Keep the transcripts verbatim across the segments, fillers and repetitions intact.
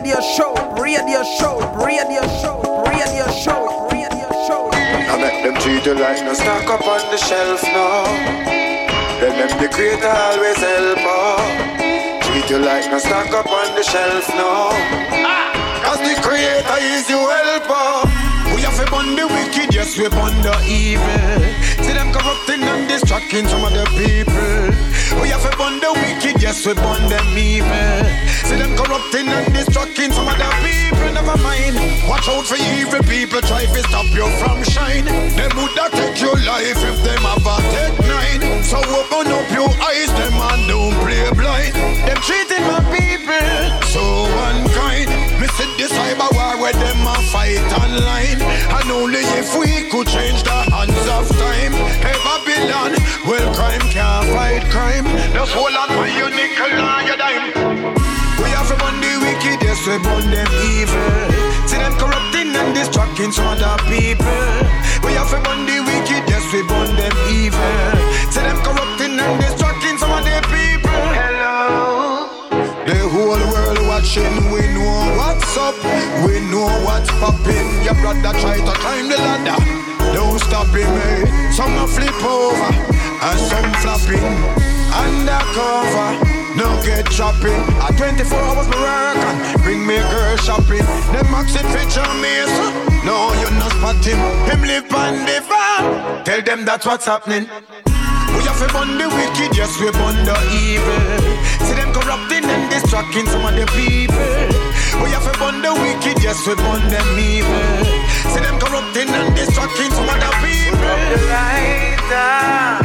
radio show, radio show, radio show, radio show, radio show. I make them treat you like no stock up on the shelf now. Then them the creator always help out. Treat you like no stock up on the shelf now. Cause the creator is your helper. We have to burn the wicked, yes we burn the evil. See them corrupting and distracting some of the people. We have to burn the wicked, yes we burn them evil. See them corrupting and distracting some of the people. Never mind, watch out for evil people. Try to stop you from shine. Them woulda take your life if them have a take nine. So open up your eyes, them and don't play blind. Them treating my people so unkind. Me see the cyber war where them a fight online. And only if we could change the hands of time. Hey Babylon, well crime can't fight crime. Just hold on for your nickel and your dime. We have to burn the wicked, yes we burn them evil. See them corrupting and distracting some other people. We have to burn the wicked, yes we burn them evil. See them corrupting and distracting some other people. Hello. The whole world watching, we know what's up, we know what's popping. Your brother try to climb the ladder, don't stop him, eh? Some a flip over, and some flopping. Undercover, no get chopping. At twenty-four hours me work and bring me girl shopping. Them maxing feature me, so no you not spot him. Him live on the farm, tell them that's what's happening. We have to burn the wicked, yes we burn the evil. See them corrupting and distracting some of the people. We have to burn the wicked, yes we burn them evil. See them corrupting and distracting some of the people. Put up the lighter.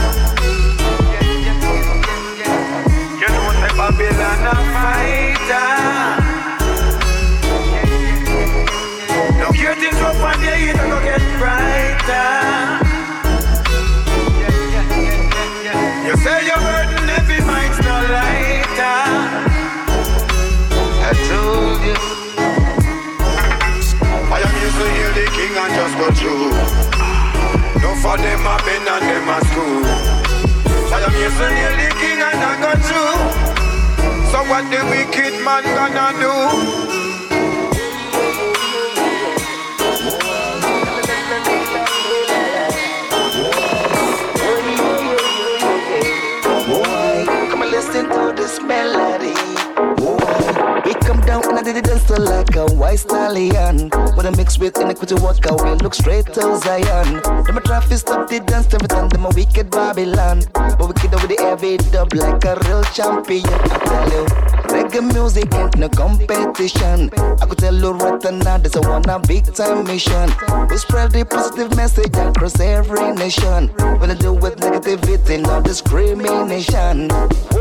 You know the Babylon a fighter. Now hear things rough and yeah, you don't go get brighter. You say your burden heavy, mine's no lighter. I told you I am used to heal the king and just go through. No for them a been and them a school. I am used to heal the king and I go through. So what the wicked man gonna do? Listen to this melody. Whoa. We come down and I did it dance like a white stallion. When I mix with iniquity walk out, we look straight to Zion. Them a try to stop the dance every time, them a wicked Babylon. But we kid with the heavy dub like a real champion. I tell you, reggae music ain't no competition. I could tell you right now, there's a one a big time mission. We spread the positive message across every nation. When I do with negativity, no discrimination.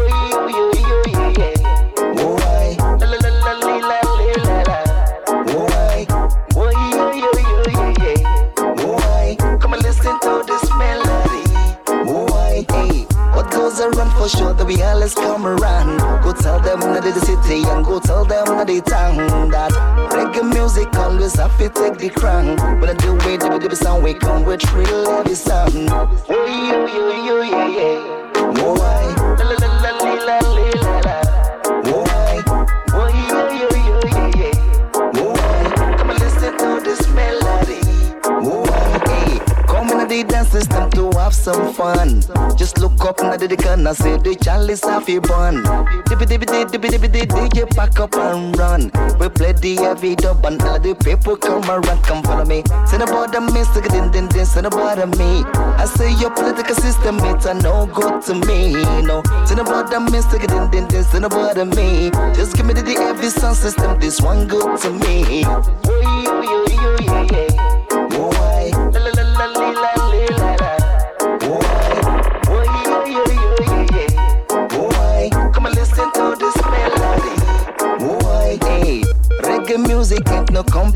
Come and listen to this melody. Hey, what goes around for sure that we always come around. Go tell them that the city and go tell them that the town that reggae music always have to take the crown. When I do it, the the sound we come with real heavy sound. Oh yeah, yeah, yeah, yeah. Oh I, la la la la la la la. Oh I, oh yeah, yeah, yeah, yeah. Oh I, come and listen to this melody. Oh I, hey, come in the dance system to have some fun. Just look up and the corner, say the chalice have a bun. Dippy dippy dippy dippy dippy D J pack up and run. We play the heavy dub and all the people come around, come follow me. Send about the me, stick it in, then then send about me. I say your political system, it's a no good to me. No, send about the me, stick it in, then then send about me. Just give me the heavy sound system, this one good to me. Oh yeah, yeah, yeah, yeah. Oh I, la la la la la la la. Oh I, oh yeah, yeah, yeah, yeah. Oh I, come and listen to this melody. Oh I, hey, reggae music ain't no competition.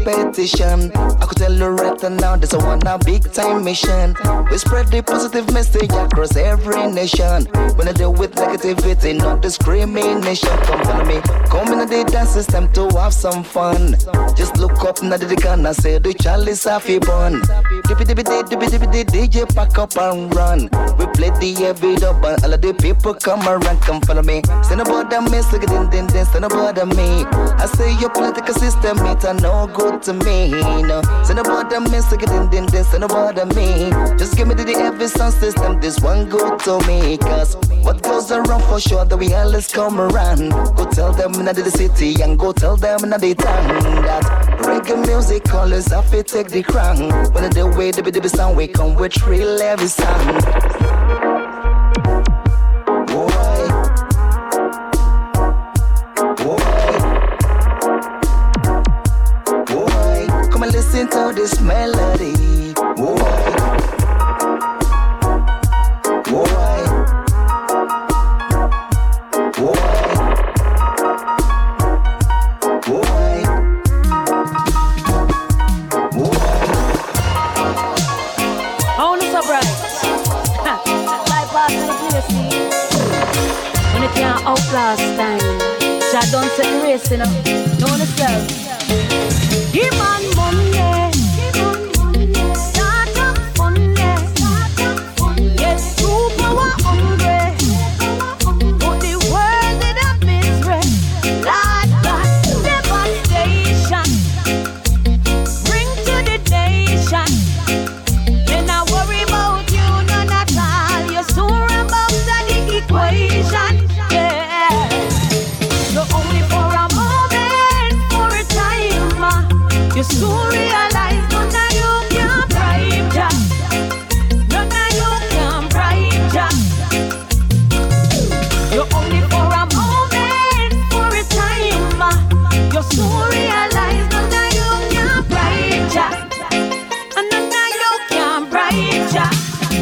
competition. I could tell you right now, this a one a big time mission. We spread the positive message across every nation. When I deal with negativity, not discrimination. Come follow me, come in the dance system to have some fun. Just look up now the gun and say the chalice have a bun. Dippy dippy dippy dippy dippy D J pack up and run. We play the heavy dub and all of the people come around. Come follow me. Say no bother me, say din din din, say no bother me. I say your political system it a no good to me. No, say no bother me, say din din din, say no bother me. Just give me the heavy sound system, this one good to me. Cause what goes around for sure that we always come around. Go tell them in the city and go tell them in the town that reggae music always have to take the crown. When the way the baby sound we come with real heavy sound. Boy, boy, boy, come and listen to this melody. Boy, boy, boy, boy, boy. Oh, no surprise. Like past the place, see. When it can't outlast time, Jah don't set the race, you know. Know yourself. Give man money. Give man money. Start up Monday. Start up Monday. Yes, true power hungry. Put the world in a misery. Lord God, devastation. Bring to the nation. Then I worry about you, none at all. You're sure about the equation. Yeah. So only for a moment, for a time, uh, you soon realize none of you can bribe Jah. None of you can bribe Jah. You're only for a moment, for a time, uh, you soon realize none of you can bribe Jah. And none of you can bribe Jah.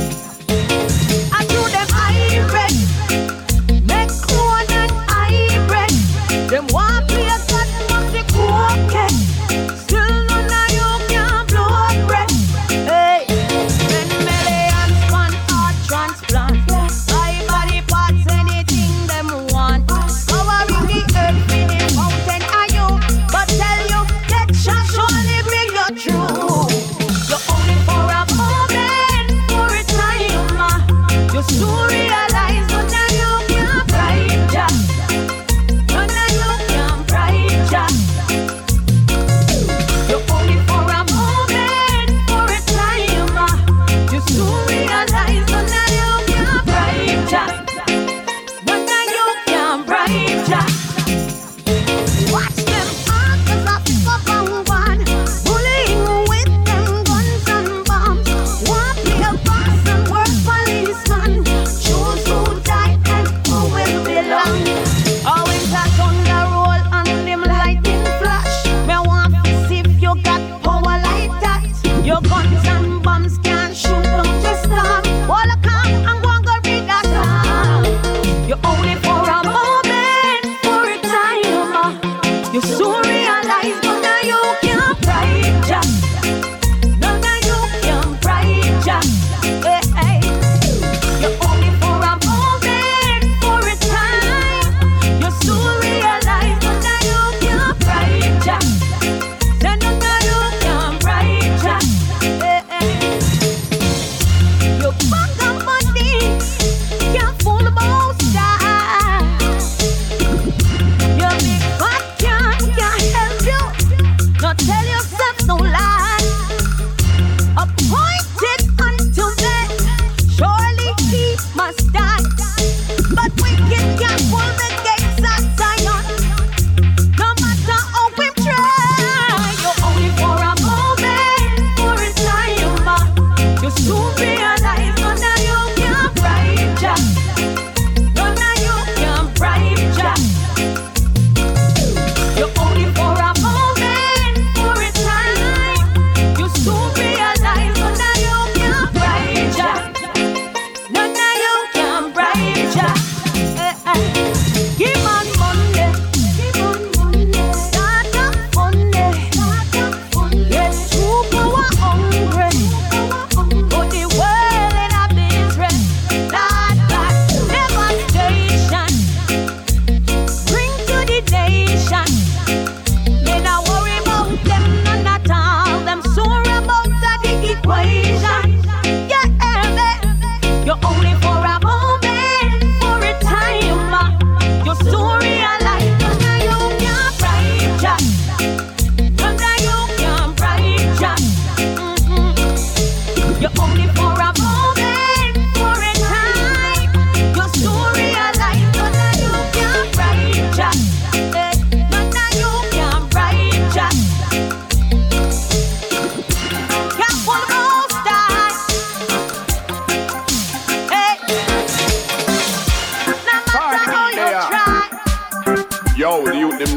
I do them hybrid, make corn and hybrid. Them want play a God must be okay. Still none of you can blow bread. Hey, ten million span heart transplant. Buy body parts, anything them want. Covering the earth with the mountain are you. But tell you, that shall surely bring you through. You're only for a moment, for a time. uh, You soon realize none of you can bribe Jah. None of you can bribe Jah. You're only for a moment, for a time. uh, You soon realize none of you can bribe Jah. None of you can bribe Jah. Watch them all, 'cause I pick up on one. Bullying with them guns and bombs. One play a boss and work policeman. Choose who die and who will belong. Oh, it's a thunder roll and them lightning flash. Me want to see if you got power like that. Your guns and bombs can't shoot down the storm.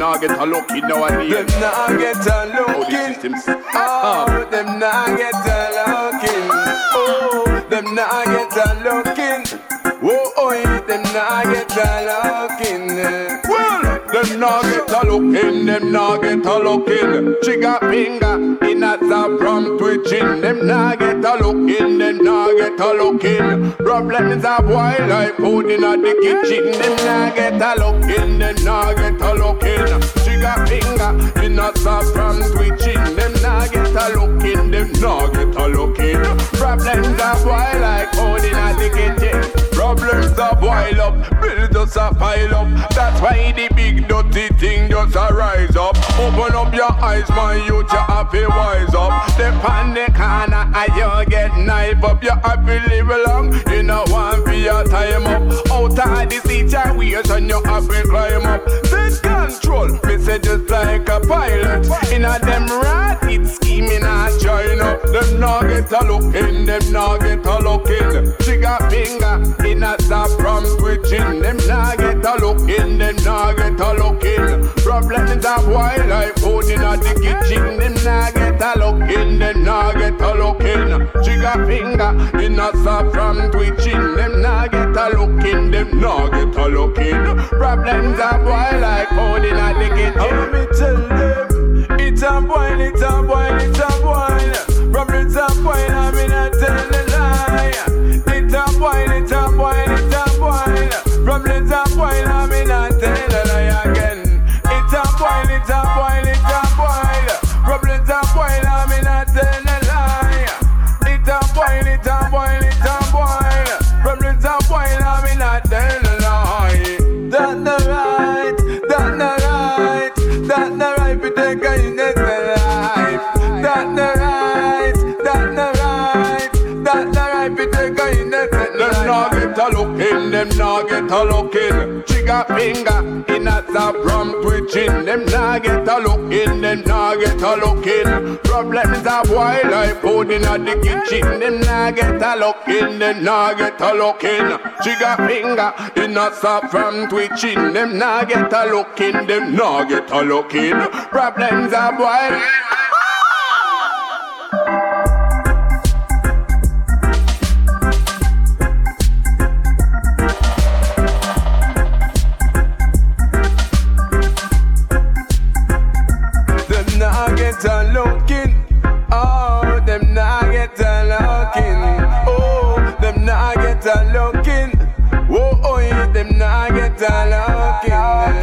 not get a look in nowadays. Them not get a look in. Oh, them not get a look in. Oh, them not get a look in. Oh, oh, them not get a look in. Well, them not get a look in, them not get a look in. Trigger finger in a zap from twitching. Them not get a look in, them not get a look in. Problems of wild like food in the kitchen. Them not get a look in, them not get a look in. Trigger finger in a zap from twitching. Them not get a look in, them not get a look in. Problems of wild like food in the kitchen. Problems a boil up, bills just a pile up. That's why the big dirty thing just a rise up. Open up your eyes, my youth, you have to wise up. Step on the corner and you get knife up. You have to live long, you know want for your time up. Out of the situation, you have to climb up. Take control, me say just like a pilot. In a them rat, it's scheming and join up. Them not get a look in, them not get a look in. Trigger finger in a zap from twitching. Them not get a look in, them not get a look in. Problems of wild life food in the kitchen. Them not get a look in, them not get a look in. Trigger finger in a zap from twitching. Them not get a look in, them not get a look in. Problems of wild life food in the kitchen. How me tell them? It's a boil, it's a boil, it's a boil. Problems of boil, I'm in a tell the lie. It's a boil, it's a boil, it's a boil. Problems a boil, I'm in a tell the lie again. It's a boil, it's a boil, it's a boil. Problems a boil, I'm in a tell the lie. It's a boil, it's a boil, it's a boil. Problems a boil, I'm in a tell the lie. That's the right, that's the right, that's the right. We take a innocent life. That's the right, that's the right, that's the right. We take a innocent life. Them not get a look in, them not get a look in. Trigger finger in a zap from twitching. Them not get a look in, them not get a look in. Problems of wild life food in the kitchen. Them not get a look in, them not get a look in. Trigger finger in a zap from twitching. Them not get a look in, them not get a look in. Problems of wild. Get a looking, oh, them not get a looking, oh, them not get a looking, oh, oh, yeah, them not get a looking.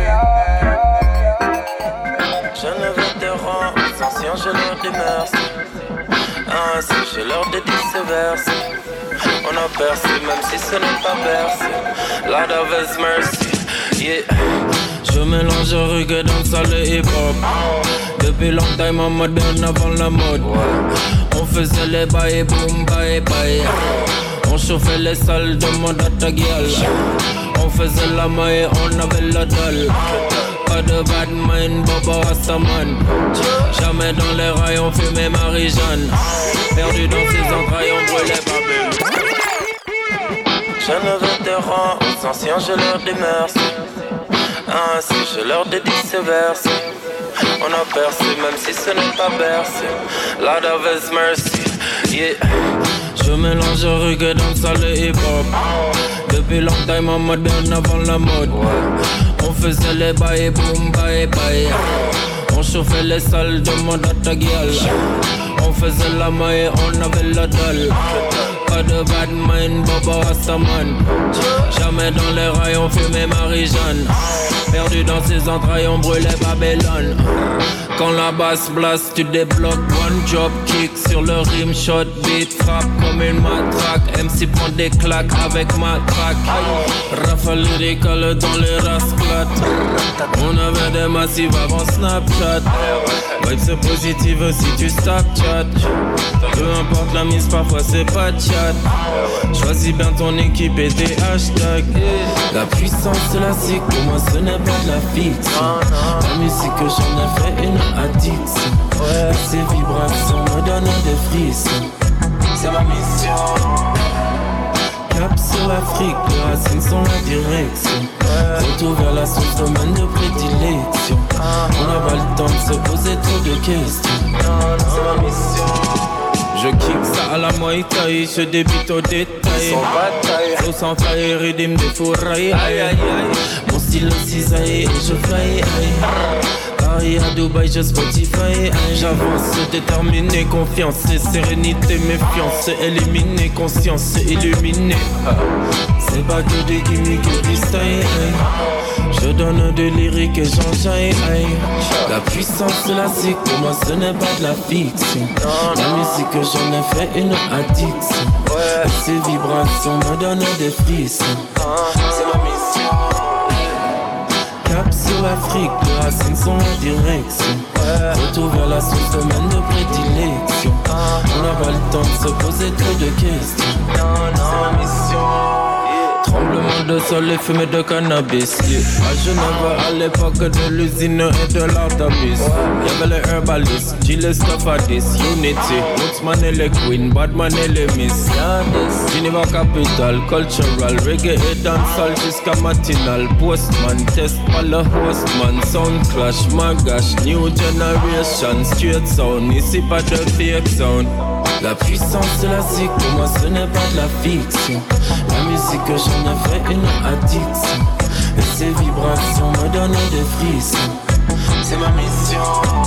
Je ne veux te rendre anciens, je leur dis merci. Ainsi, je leur dédie ces versets. On a percé, même si ce n'est pas bercé. Lord of His mercy, yeah. Je mélange reggae, dancehall et hip-hop. Depuis longtemps, en mode bien avant la mode. On faisait les bails, boom, bye, bye. On chauffait les salles de mode à ta gueule. On faisait la maille, on avait la dalle. Pas de bad mind, Bobo Rastaman. Jamais dans les rails, on fumait Marie-Jeanne. Perdu dans ses entrailles, on brûlait Babel. Je ne veux te rendre aux anciens, je leur dis merci. Ainsi, je leur dédie ces versets. On a percé, même si ce n'est pas bercé. Lord of His mercy, yeah. Je mélange reggae, dancehall et hip-hop. Depuis longtemps, en mode bien avant la mode. On faisait les bails, boom, bye, bye. On chauffait les salles de mode à ta gueule. On faisait la maille, on avait la dalle. Pas de bad mind, Bobo Rastaman. Jamais dans les rails, on fumait Marie-Jeanne. Perdu dans ses entrailles, on brûlait Babylone. Quand la basse blast, tu débloques. One drop kick sur le rim, shot beat, frappe comme une matraque. M C prend des claques avec ma traque. Rafale lyrical dans les rasclates. On avait des massifs avant Snapchat. Vibe c'est positive si tu Snapchat. Peu importe la mise, parfois c'est pas de chat. Choisis bien ton équipe et tes hashtags. La puissance de la zik, pour moi ce n'est pas de la fiction. La musique que j'en ai fait une addiction. Et ces vibrations me donnent des frissons. C'est ma mission. Cap sur l'Afrique, le racines sont la direction. Retour vers la source, domaine de prédilection. On n'a pas le temps de se poser trop de questions. C'est ma mission. Je kick ça à la Muay Thai, je débute au détail. Sans bataille, faut sans faille, rythme des fourrailles. Aïe aïe aïe, mon style cisaille et je fly. Paris à Dubaï, je Spotify. J'avance, déterminé, confiance et sérénité, méfiance. Éliminer, conscience, illuminer. C'est pas que des gimmicks et du style. Je donne de lyrique et j'enjaille. La puissance de la zik, pour moi ce n'est pas de la fiction. La musique que j'en ai fait une addiction. Et ces vibrations me donnent des frissons. C'est ma mission. Cap sur l'Afrique, les racines sont la direction. Retour vers la source, domaine de prédilection. On n'a pas le temps de se poser trop de questions. C'est ma mission. Tremblement de sol et fumée de cannabis, yeah. À Genève à l'époque de l'usine et de l'artabis, y'avait les herbalistes, Gilles Stafadis, Unity, Woodsman et les Queen, Badman et les Miss, Geneva Capital, Cultural, Reggae et dancehall jusqu'à matinal, Postman, test par le hostman, Sound Clash, Magash, New Generation, Straight Sound, ici pas de fake sound. La puissance de la zik, pour moi ce n'est pas de la fiction. La musique que j'en ai fait une addiction. Et ces vibrations me donnent des frissons. C'est ma mission.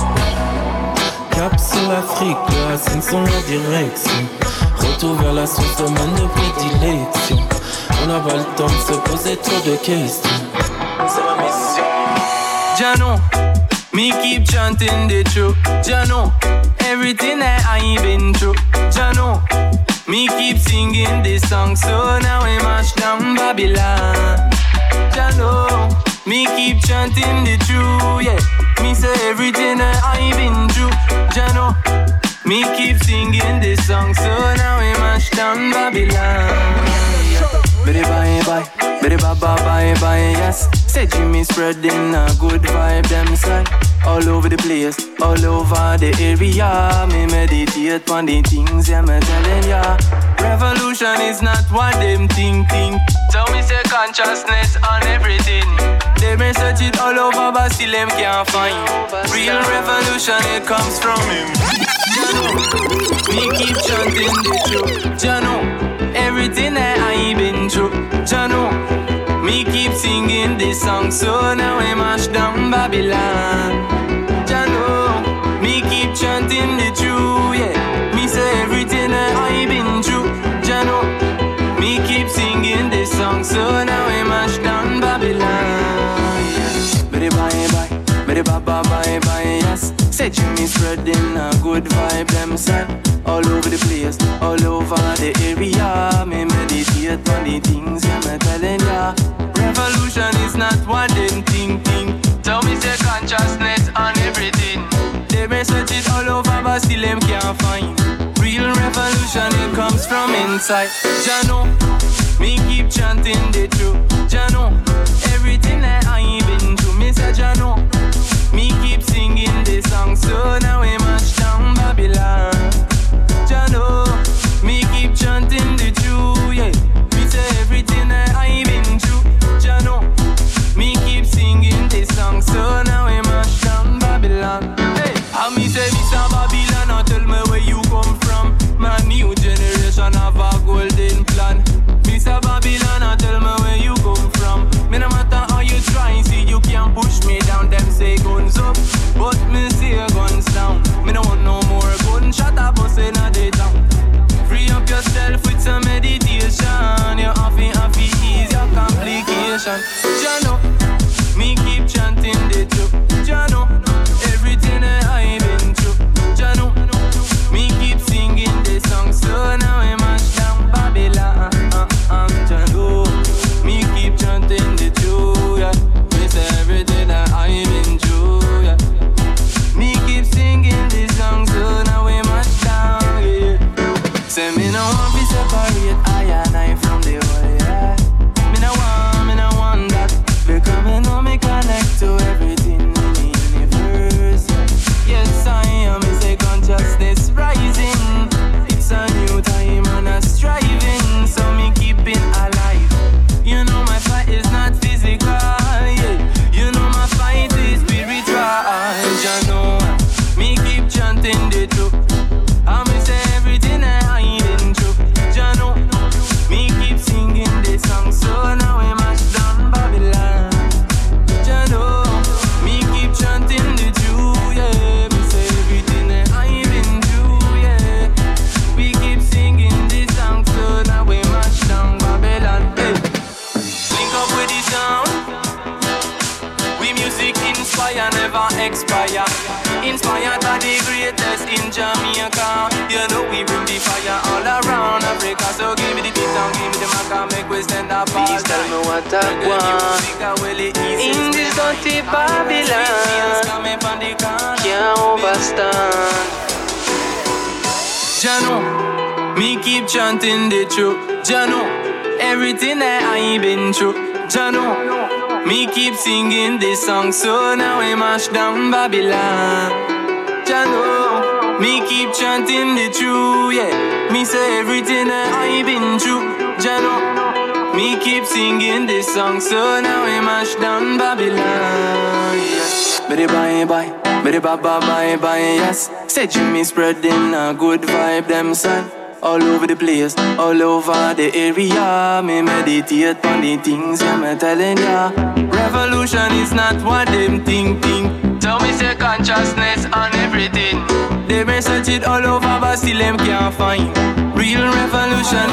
Cap sur l'Afrique, les racines sont la direction. Retour vers la source, domaine de prédilection. On n'a pas le temps de se poser trop de questions. C'est ma mission. Jano, me keep chanting the truth. Jano, everything that I been through. Jano, me keep singing this song, so now we mash down Babylon. Jano, me keep chanting the truth, yeah. Me say everything that I been through. Jano, me keep singing this song, so now we mash down Babylon. Biddy bye bye, biddy bye bye bye bye, yes. Say Jimmy spreading a good vibe, them side. All over the place, all over the area. Me meditate on the things, yeah, me telling ya. Revolution is not what them think, think. So me say consciousness on everything. They may search it all over, but still them can't find. Real revolution, it comes from him. Jano, me keep chanting the truth. Jano, everything that I been through. Jano, me keep singing this song, so now we mash down Babylon. Jano, me keep chanting the truth, yeah. Me say everything that I been through. Jano, me keep singing this song, so now we mash down Babylon. Biddy bye bye, biddy bye bye bye bye, yes. Say Jimmy spreading a good vibe, them side. All over the place, all over the area. Me meditate on the things, yeah, me telling ya. Revolution is not what them think, think. Tell me say consciousness on everything. They may search it all over, but still them can't find. Real revolution, it comes from inside. Jano, me keep chanting the truth. Jano, everything that I been through. Me say Jano, me keep singing this song, so now we mash down Babylon. Jano, me keep chanting the truth, yeah. Me say everything that I been through. Jano, me keep singing this song, so now we mash down Babylon. Hey, and me say Mister Babylon, now tell me where you come from. My new generation have a golden plan. Mister Babylon, now tell me where you come from. Me no matter how you try, see you can't push me down. Them say guns up, but me say guns down. Me no want no more gunshot a bust inna the town. Free up yourself with some meditation. You happy, happy, ease your complication. Jano, me keep chanting the truth. Jano, everything that I been through. Jano, me keep singing this song, so now we mash down Babylon. Uh, uh, Jano, me keep chanting the truth, yeah. Me say everything that I been through, yeah. Me keep singing this song, so now we mash down, yeah. Say me no want to separate I and I from the world, yeah. Me no want, me no want that expire. Inspired by the greatest in Jamaica. You know we bring the fire all around Africa. So give me the beat and give me the mic and make we stand up. Please tell me what I want. In this dirty Babylon, can't overstand. Jano, me keep chanting the truth. Jano, everything that I been through. Jano, me keep singing this song. So now we mash down Babylon. Jano, me keep chanting the truth. Yeah, me say everything that I been through. Jano, me keep singing this song. So now we mash down Babylon. Yeah. Bye bye bye. Bye bye bye bye yes. Said you me spreading a good vibe them son. All over the place, all over the area. Me meditate on the things yeah, me telling ya. Revolution is not what them think think. Tell me say consciousness on everything. They may search it all over but still them can't find real revolution.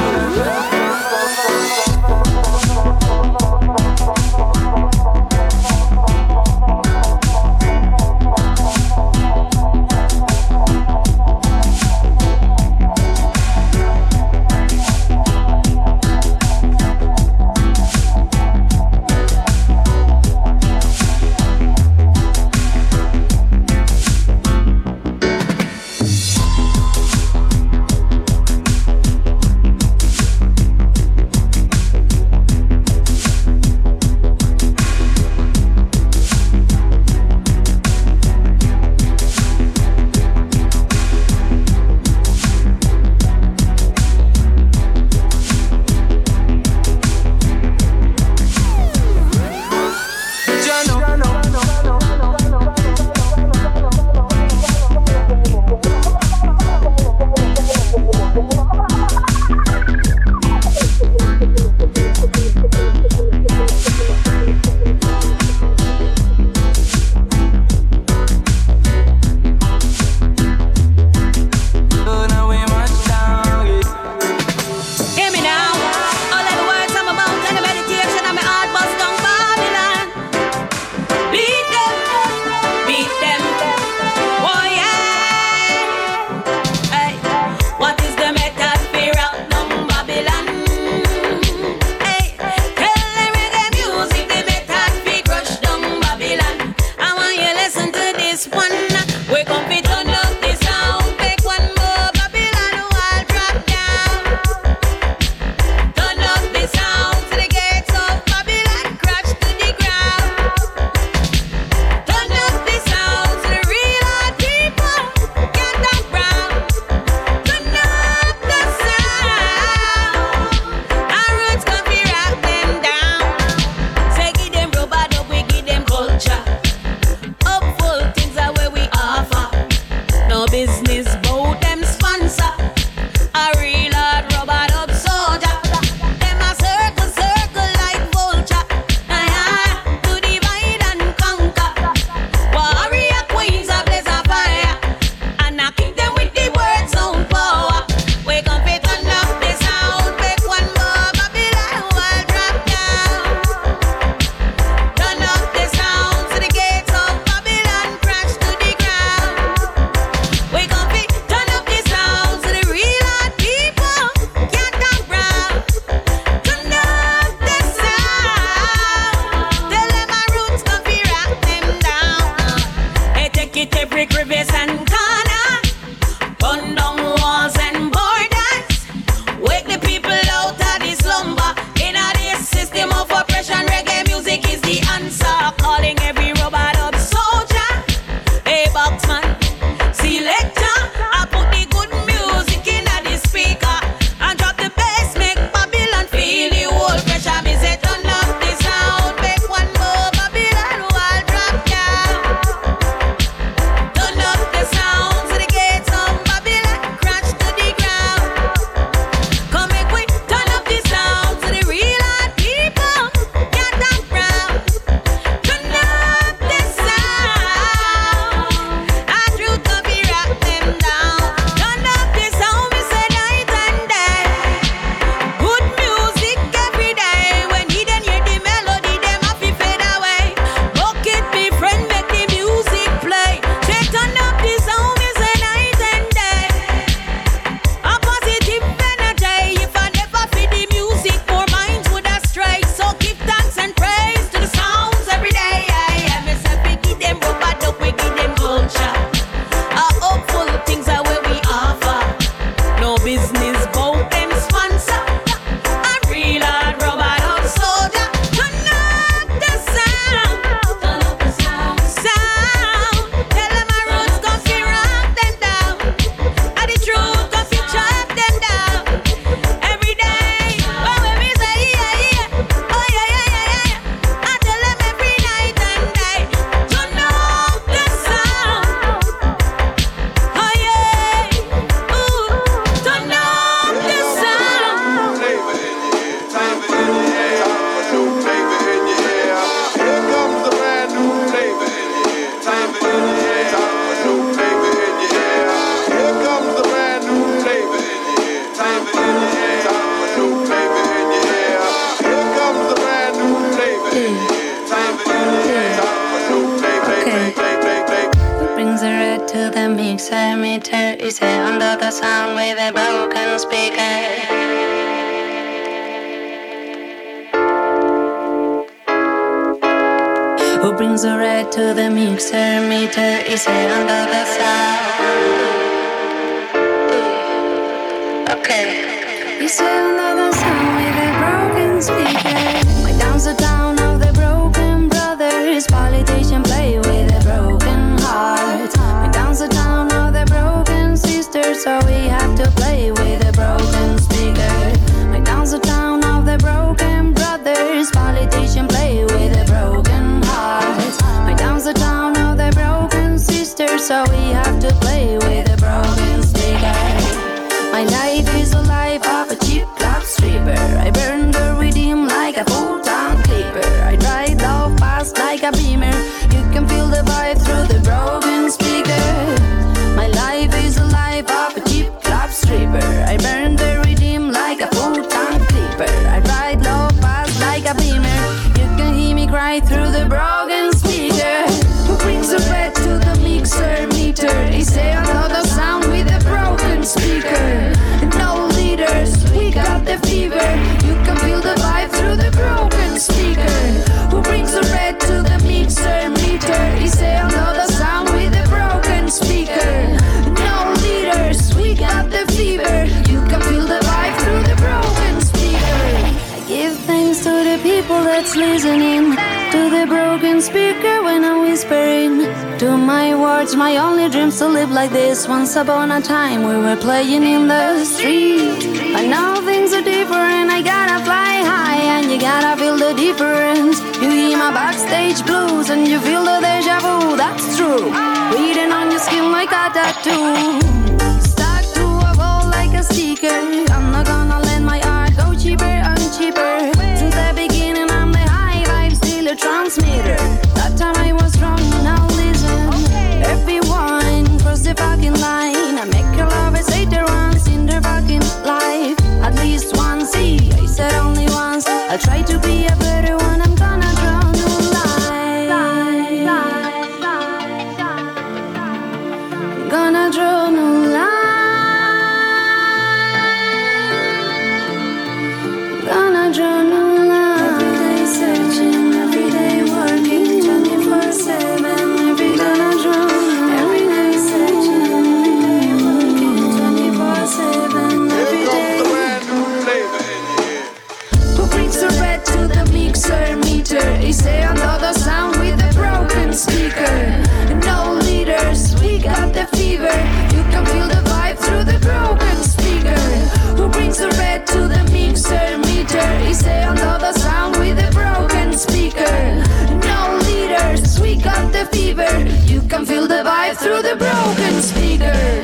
to the mixer meter. Is it under the sound with a broken speaker? Who brings the red to the mixer meter? Is it under the sound? Okay. Is it under the sound with a broken speaker? My down's the town of the broken brothers. Politician play with a broken heart. My down's the town of the broken sisters. So we have to play with a broken speaker. My down's the town of the broken brothers. Politician play with a broken heart. My down's the town of the broken sisters. So we have to play with a broken speaker. My life is a life of a cheap club stripper. I burn the rhythm like a full-time clipper. I ride low fast like a beamer. You can feel the vibe through the broken speaker. My life is a life of a cheap club stripper. I burn the rhythm like a full-time clipper. I ride low fast like a beamer. You can hear me cry through the broken speaker. Who brings the red to the mixer meter? Is there another sound with a broken speaker? No leaders, we got the fever. You can feel the vibe through the broken speaker. Who brings the red to the mixer meter? Is there another sound with a broken speaker? No leaders, we got the fever. You can feel the vibe through the broken speaker. I give thanks to the people that's listening to the broken speaker when I'm whispering to my words, my only dreams to live like this. Once upon a time we were playing in the street, but now things are different. I gotta fly high and you gotta feel the difference. You hear my backstage blues and you feel the deja vu, that's true. Reading on your skin like a tattoo. Stuck to a wall like a sticker. I'm not gonna let my art go cheaper and cheaper. Since the beginning I'm the high vibe, still a transmitter. That time I was wrong, now listen. Everyone cross the fucking line. I make your lovers hate their once in their fucking life. At least once, see, I said only once. I'll try to be a better one. I'm gonna draw new line. I'm gonna draw new line. I'm gonna draw new line. Every day searching, every day working, twenty-four seven. Every day I draw. Every day searching, every day working, twenty-four seven. Every day. Who brings the red to the mixer meter? Is there another sound with a broken speaker? No leaders, we got the fever. You can feel the vibe through the broken speaker. Who brings the red to the mixer meter? Is there another sound with a broken speaker? No leaders, we got the fever. You can feel the vibe through the broken speaker.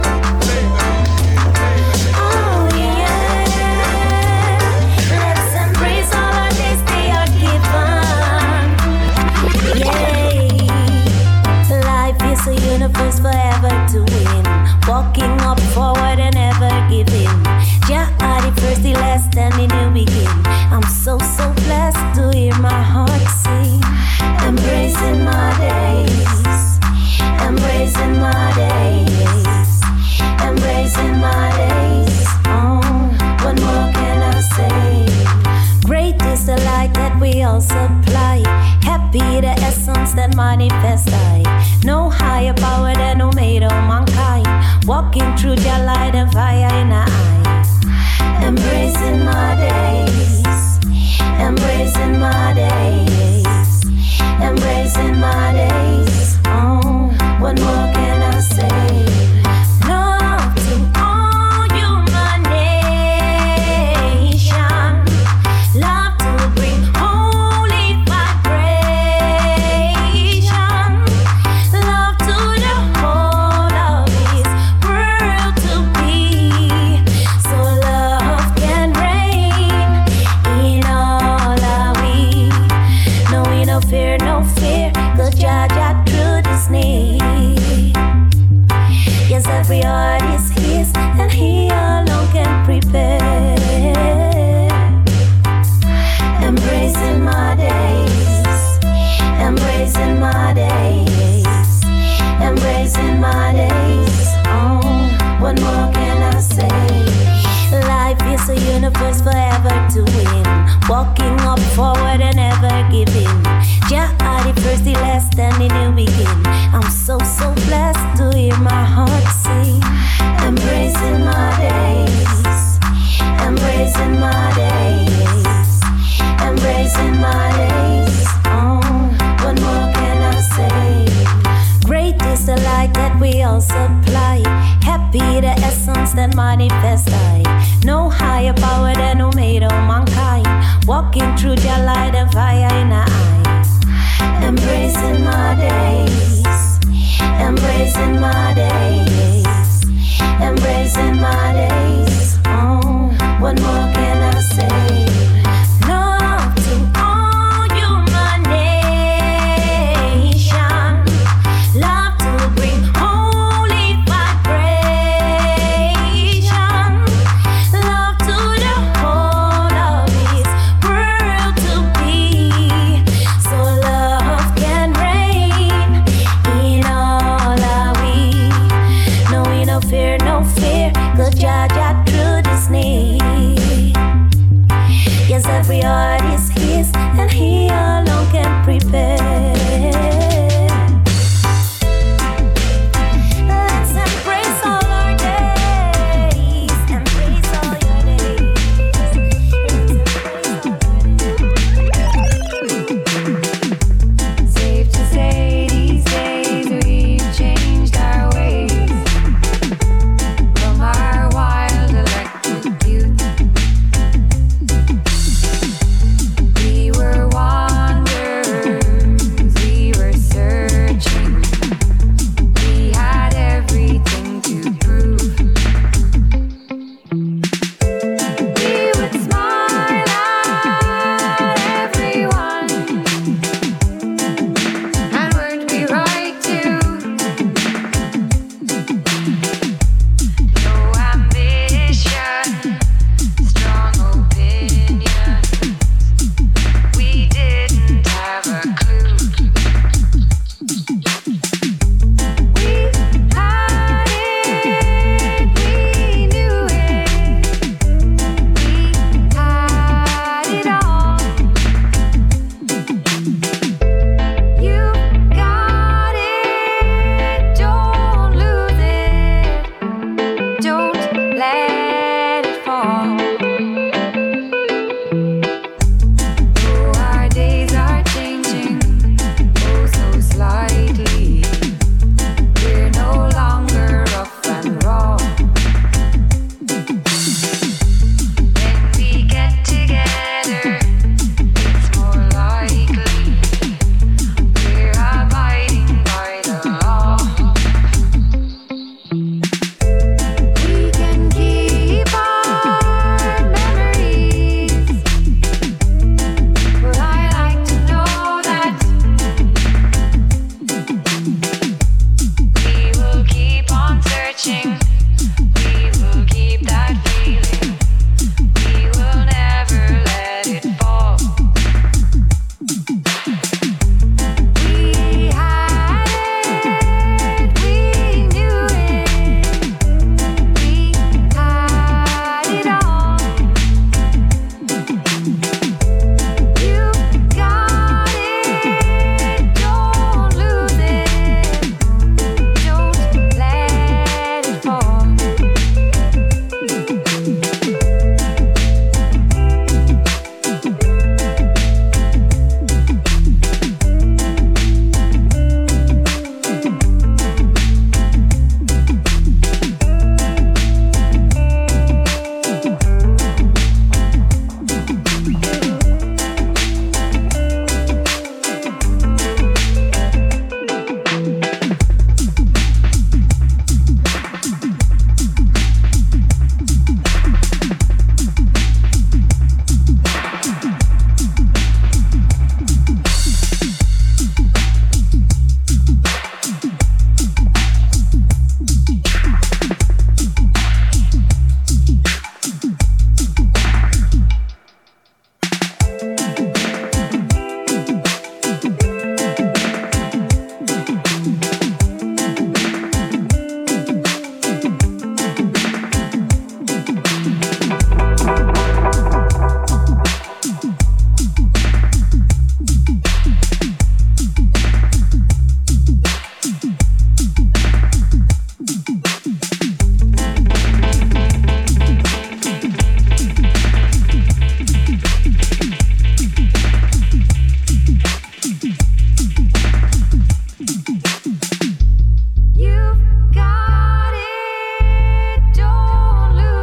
A universe forever to win. Walking up forward and never giving. Jah are the first, the last, and the new begin. I'm so, so blessed to hear my heart sing. Embracing my days. Embracing my days. Embracing my days. Oh, what more can I say? Great is the light that we all supply. Happy the essence that manifests I. No higher power than who made all mankind. Walking through their light and fire in our eyes. Embracing my days. Embracing my days. Embracing my days. Oh, what more can I say? Love to all human nation. Love to bring holy vibration. Love to the whole of this world to be. So love can reign. fire in her eyes. Embracing my days, embracing my days, embracing my days. Oh, what more can I say? Love to all human nation, love to bring holy vibration, love to the whole of this world to be, so love can reign in all our we. No, we no fear, no fear, 'cause Jah Jah through this need. Yes, every heart is His, and He alone can prepare. Let's embrace all our days, embrace all your days. Safe to say these days we've changed our ways from our wild electric youth. We were wanderers, we were searching, we had everything to prove. We would smile at everyone, and weren't we right too? No ambition, strong opinion. We didn't have a clue. We had it, we knew it. We had it all. You got it, don't lose it. Don't let it fall. Oh, our days are changing, oh so slightly. We're no longer rough and raw. When we get together, it's more likely we're abiding by the law. We can keep our memories, but I like to know that we will keep on searching, we will keep that feeling, we will never let it fall. We had it, we knew it, we had it all. You got it, don't lose it, don't let it fall.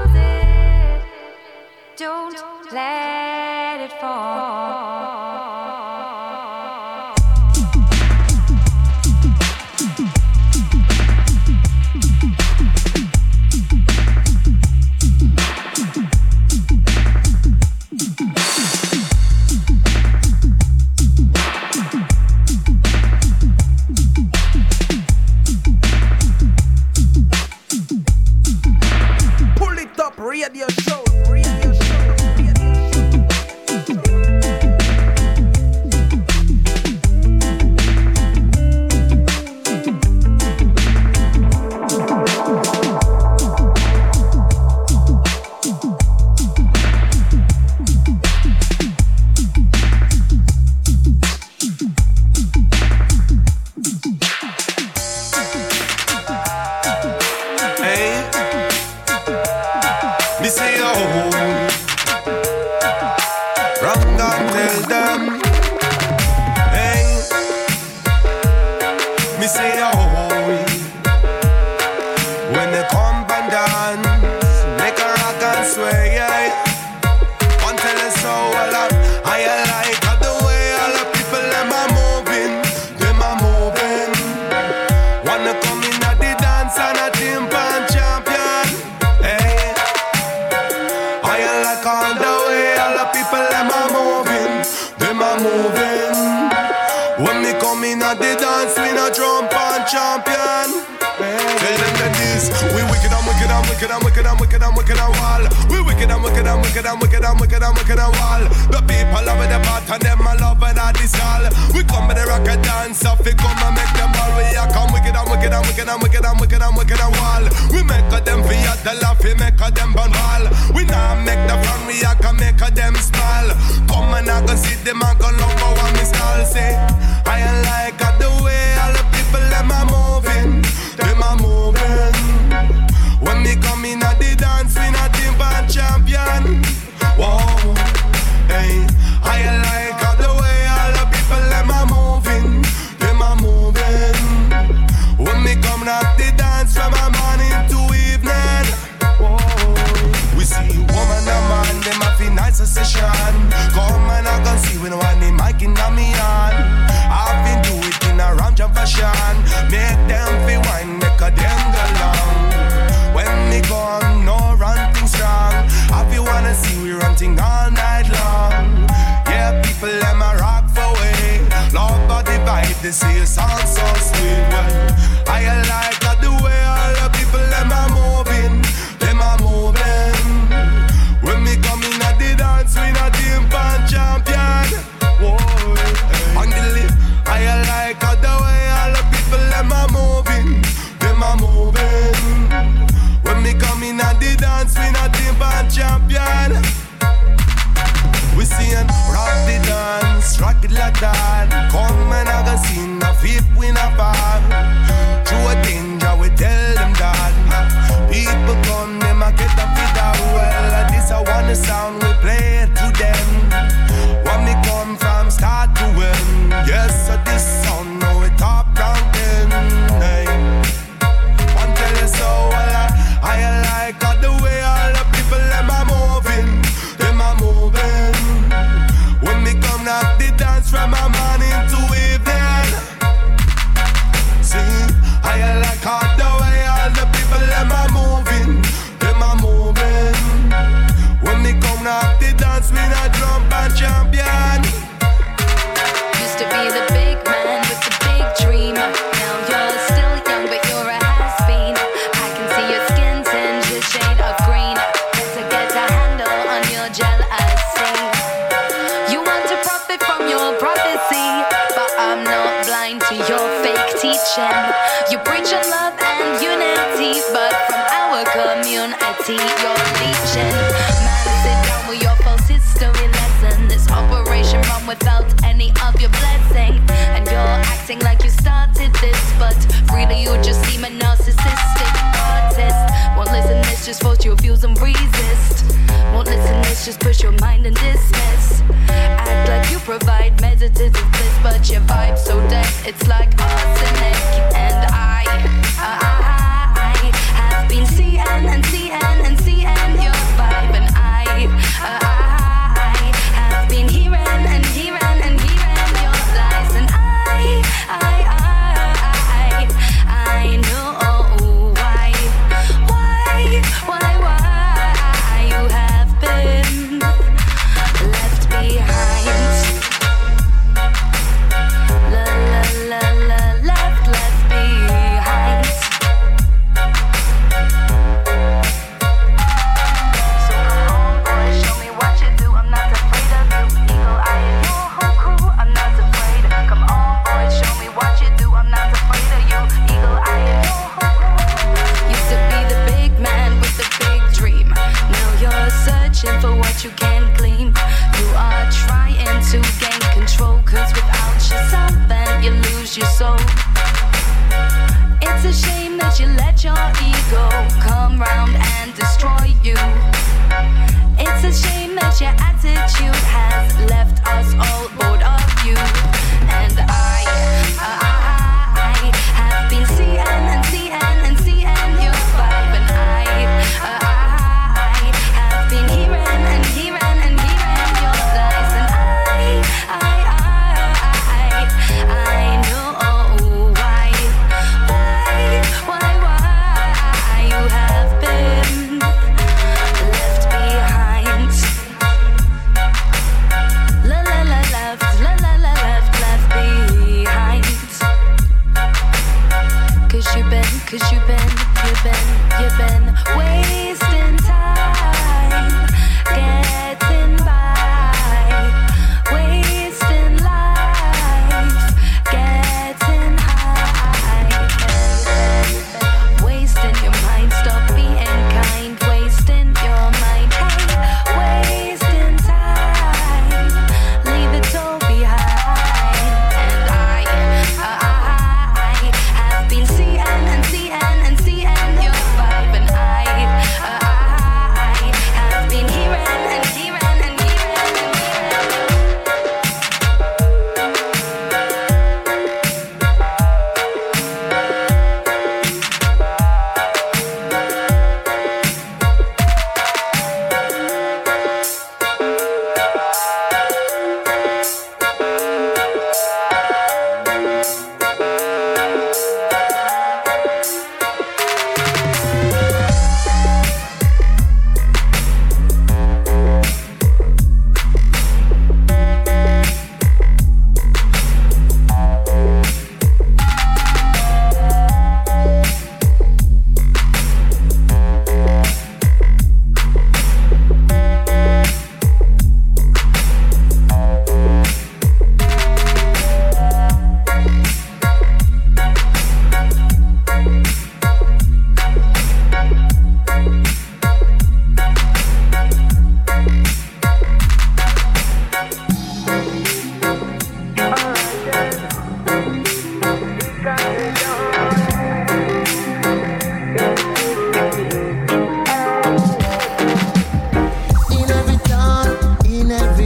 Don't let it fall. from God tell them. Hey, me say oh, when they come and dance, make a rock and sway. Yeah. One tell us so a lot. I like the way all the people them are moving, them are moving. Wanna come in at the dance and a timpan champion. Hey, I like all the way all the people them are moving, them are moving. When me come in at the dance, we no jump and champion. Tell them that this, we wicked and wicked and wicked and wicked and wicked and wicked and wall. We wicked and wicked and wicked and wicked and wicked and wicked and wall. The people love the part and them a love and all this all. We come with the rock and dance up, we come and make them all. We a come wicked and wicked and wicked and wicked and wicked and wicked and wall. We make a them feel the laugh, we make a them burn wall. We now make the fun, we a can make a them smile. Come and I go see them and go love for one me style. Say, I like the way all the people them are moving. Them a moving. When me come in at the dance, we not timpan champion. Whoa, hey, I like how the way all the people them a moving. Them a moving. When me come at the dance from a morning to evening. Whoa, we see woman and man, them a feel nice session. Come and I can see when one the mic in me on. I've been do it in a ram jam fashion. Make them feel wine, make a them go long. When me gone, no ranting strong. If you wanna see we ranting all night long. Yeah, people them a rock for way. Love body vibe, they say a song so sweet. Well, I like that the way all the people them a moving, them a moving. When me come in at the dance, we not timpan champion. Whoa, on the lip, I like how the way all the people them a moving, them a moving. When me come in at the dance, we not timpan champion. We sing rock the dance, rock it like that. Come and I can sing a fifth win a bar. Through a danger, we tell them that. People come, them a get a fit out well. This I want the sound, we play it to them. When me come from start to end. Yes, so this sound, know it top ranking. Hey, one tell us so well. I like all the way all the people them are moving, them are moving. When me come knock the dance from a morning to evening. See, I like all the way all the people them are moving, them are moving. When me come knock the dance, me not jump and champion. Used to be the big man with the big dream. Now you're still young, but you're a has-been. I can see your skin tinge a shade of green. Better get a handle on your jealousy. You want to profit from your prophecy, but I'm not blind to your fake teaching. You preach on love and unity, but from our community you're leeching. Man, sit down with your false history lesson. This operation run without any of your blessing. And you're acting like you started this, but really you just seem a narcissistic artist. Won't listen, this just force your views and resist. Won't listen, this just push your mind and dismiss. Act like you provide meditative bliss, but your vibe so dense, it's like arsenic. And I, I, I have been seeing and seeing and seeing your vibe. And I, I, I have been hearing and hearing and hearing your lies. And I, I, I, I, I know why, why, why, why you have been left behind. La la la la, left, left behind. So come on, boy, show me what you do. I'm not afraid of you. Eagle eye and your whole crew. I'm not afraid. Come on, boy, show me what you do. I'm not afraid of you. Eagle eye and your whole crew. Used to be the big man with the big dream. Now you're searching for what you can't claim. You are trying to gain control, cause without your something you lose your soul. It's a shame that you let your ego come round and destroy you. It's a shame that your attitude has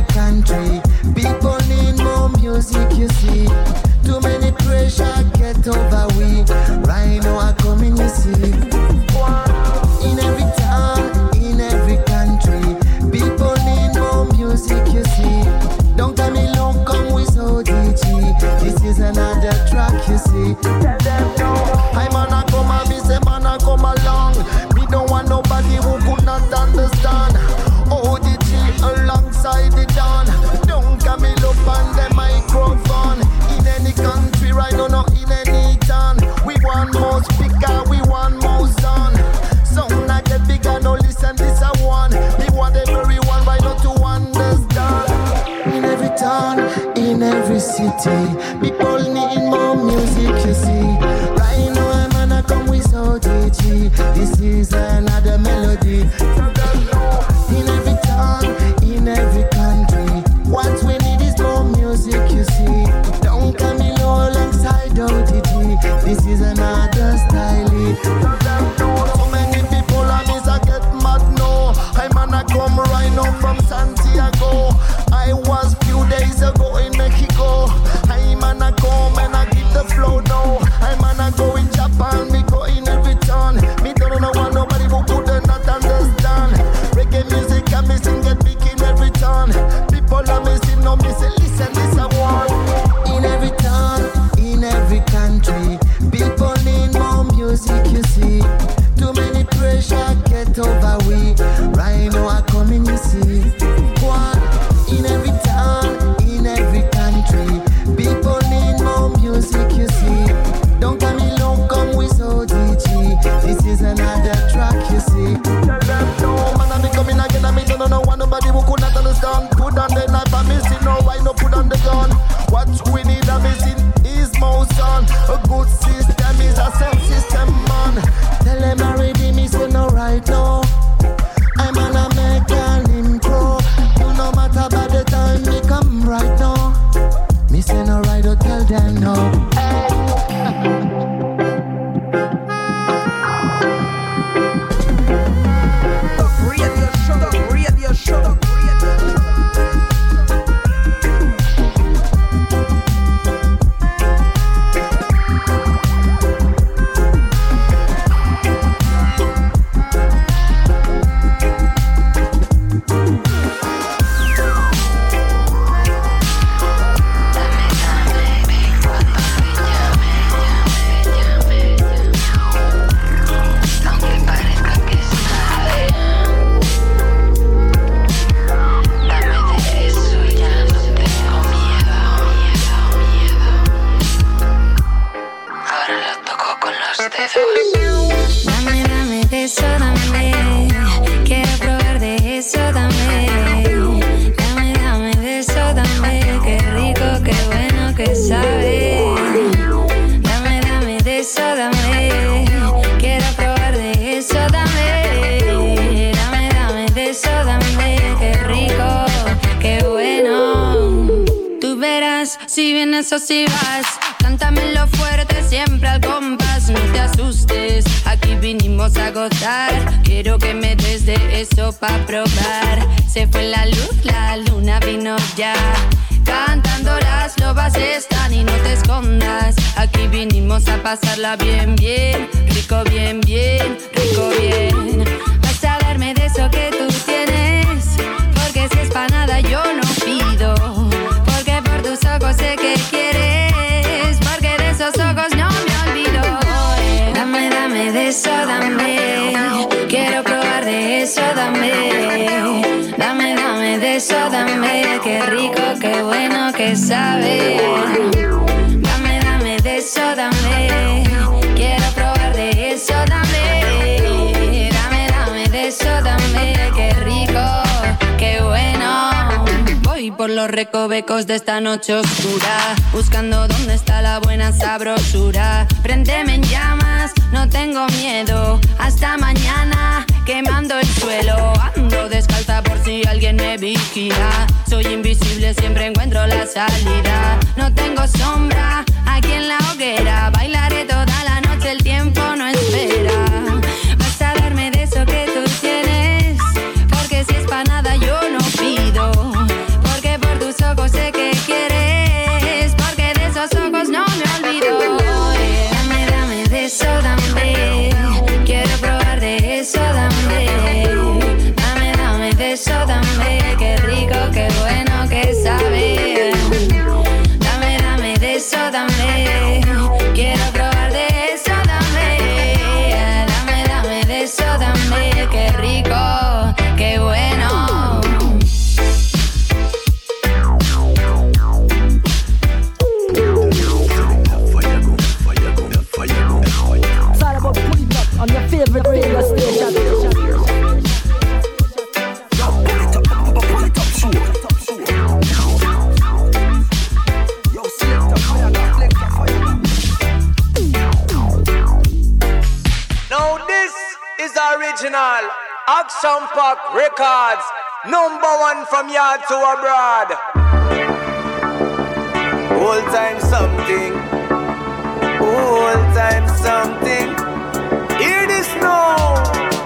country, people need more music, you see. Too many pressure get over we. Right now I come in, you see. In every town, in every country, people need more music, you see. Don't tell me long come with O D G. This is another track, you see. Tell them no. I man I come and me say man I come along. Me don't want nobody who could not understand. O D G alongside the Don. Don't come me up on the microphone. In any country right now, not in any town. We want more speaker, we want more sound. Sound like a bigger, no listen this a one. We want everyone right now to understand. In every town, in every city, people need more music, you see. Right now I'm gonna come with O D G. This is another melody. In every town, in every country, what we need is more music, you see. Don't come in low alongside O D G. This is another style. So many people I miss I get mad now. I'm gonna come right now from Santiago. I was few days ago in Mexico. I'm gonna come and I give the flow now. I'm gonna go in Japan, me go in every town. Me don't know what nobody who could not understand. Reggae music and me sing get big in every town. People are missing, no me say listen this I want. In every town, in every country, people need more music, you see. Too many pressure get over we. Right now I come in, you see. One, in every town, in every country, people need more music, you see. Don't come in long come with O D G. This is another track, you see. Tell them no, man I be coming again and me don't know one nobody who could not understand. Put on the knife and missing, no why no put on the gun. What we need a missing is more sound. A good system is a sound system, man. Tell them already me say no right now. I'm gonna make an intro. You no matter by the time me come right now. Me say no right, don't tell them no. Radio show, radio show. Dame, dame de eso, dame. Quiero probar de eso, dame. Dame, dame de eso, dame. Qué rico, qué bueno que sabe. Dame, dame de eso, dame. Quiero probar de eso, dame. Dame, dame de eso, dame. Qué rico, qué bueno. Tú verás si vienes o si vas. Cántamelo fuerte, siempre al compás. No te asustes, aquí vinimos a gozar. Quiero que me des de eso pa' probar. Se fue la luz, la luna vino ya. Cantando las lobas están y no te escondas. Aquí vinimos a pasarla bien, bien. Rico, bien, bien, rico, bien. Vas a darme de eso que tú tienes. Porque si es pa' nada yo no pido. Porque por tus ojos sé que quieres. Esos ojos no me olvido. Dame, dame de eso, dame. Quiero probar de eso, dame. Dame, dame de eso, dame. Qué rico, qué bueno que sabe. Dame, dame de eso, dame. Quiero probar de eso, dame. Dame, dame de eso, dame. Qué rico, qué bueno. Voy por los recovecos de esta noche oscura, buscando dónde está la buena sabrosura. Préndeme en llamas, no tengo miedo. Hasta mañana, quemando el suelo. Ando descalza por si alguien me vigila. Soy invisible, siempre encuentro la salida. No tengo sombra aquí en la hoguera. Bailaré toda la noche, el tiempo no espera. Vas a darme de eso que tú tienes. Porque si es pa' nada yo no pido. original Action Pack Records, number one from yard to abroad. Whole time something, whole time something. Hear this now.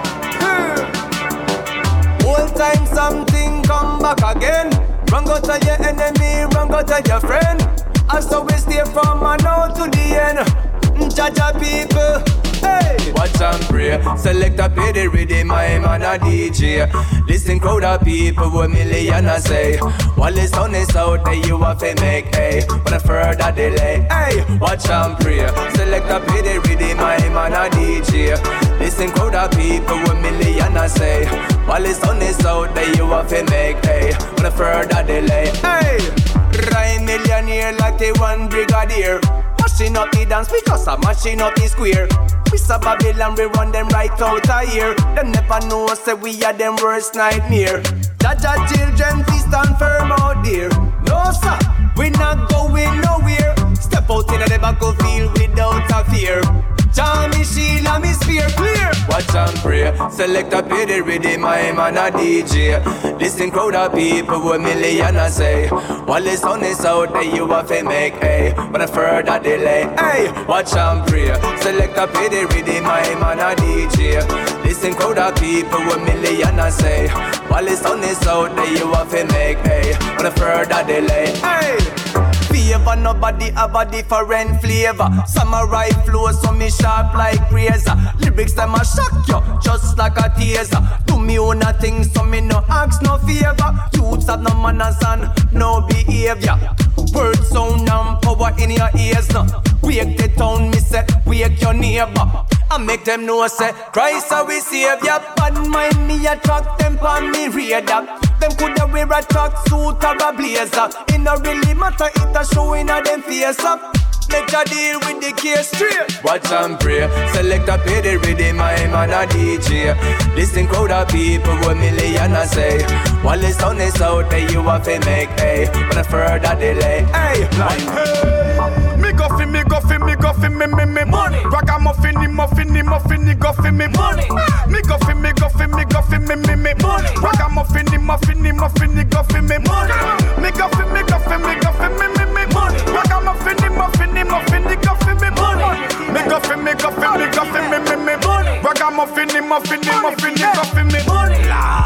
Whole time something come back again. Run go tell your enemy, run go tell your friend. And so we stay from now to the end. Jaja people, hey. Watch and pray, select a pay the rhythm, my man a D J. Listen crowd of people, one million I say. While the sun is out there, you have to make, hey. But a further delay, hey. Watch and pray, select a pay the rhythm, my man a D J. Listen crowd of people, one million I say. While the sun is out there, you have to make, hey. But a further delay, hey. Rhyme millionaire like the one brigadier. Mashing up the dance because I'm mashing up the square. We saw Babylon, we run them right out of here. Them never know, say we are them worst nightmare. Jaja children, please stand firm out there. No sir, we not going nowhere. Step out in the battlefield without a fear. Jammy Sheila, me spear clear. Watch and pray, select a pay the rhythm, my man a D J. Listen crowd of people, one million I say. While the sun is out there, you have to make, hey. But a further delay, hey. Watch and pray, select a pay the rhythm, my man a D J. Listen crowd of people, one million I say. While the sun is out there, you have to make, hey. But a further delay, hey. Favor, nobody have a different flavor. Samurai flow, so me sharp like razor. Lyrics them a shock you, just like a taser. Do me own a thing, so me no ask no favor. Youths have no manners and no behavior. Words sound and power in your ears now. Wake the town, me say, wake your neighbor. I make them know say, Christ are we savior. Bad mind me attract them on me radar. Them coulda wear a track suit or a blazer. It no really matter, it a showing a them face up. Make a deal with the case straight. Watch and pray, select a pay the rhythm, my man a D J. Listen crowd of people, one million I say. While the sun is out there, you have to make, hey. But a further delay, hey. Like, hey. Me go fi, me go fi, me go fi, me, me, me money. Ragamuffin, the muffin, the muffin, the go fi, me money. Me go fi, me go fi, me go fi, me, me, me money. Ragamuffin, the muffin, the muffin, the go fi, me money. Me go fi, me go fi, me go fi, me, me, me money. Ragamuffin, the muffin, the muffin, the go fi, me money. Me go fi, me go fi, me go fi, me, me, me money. Ragamuffin, the muffin, the muffin, the go fi, me money.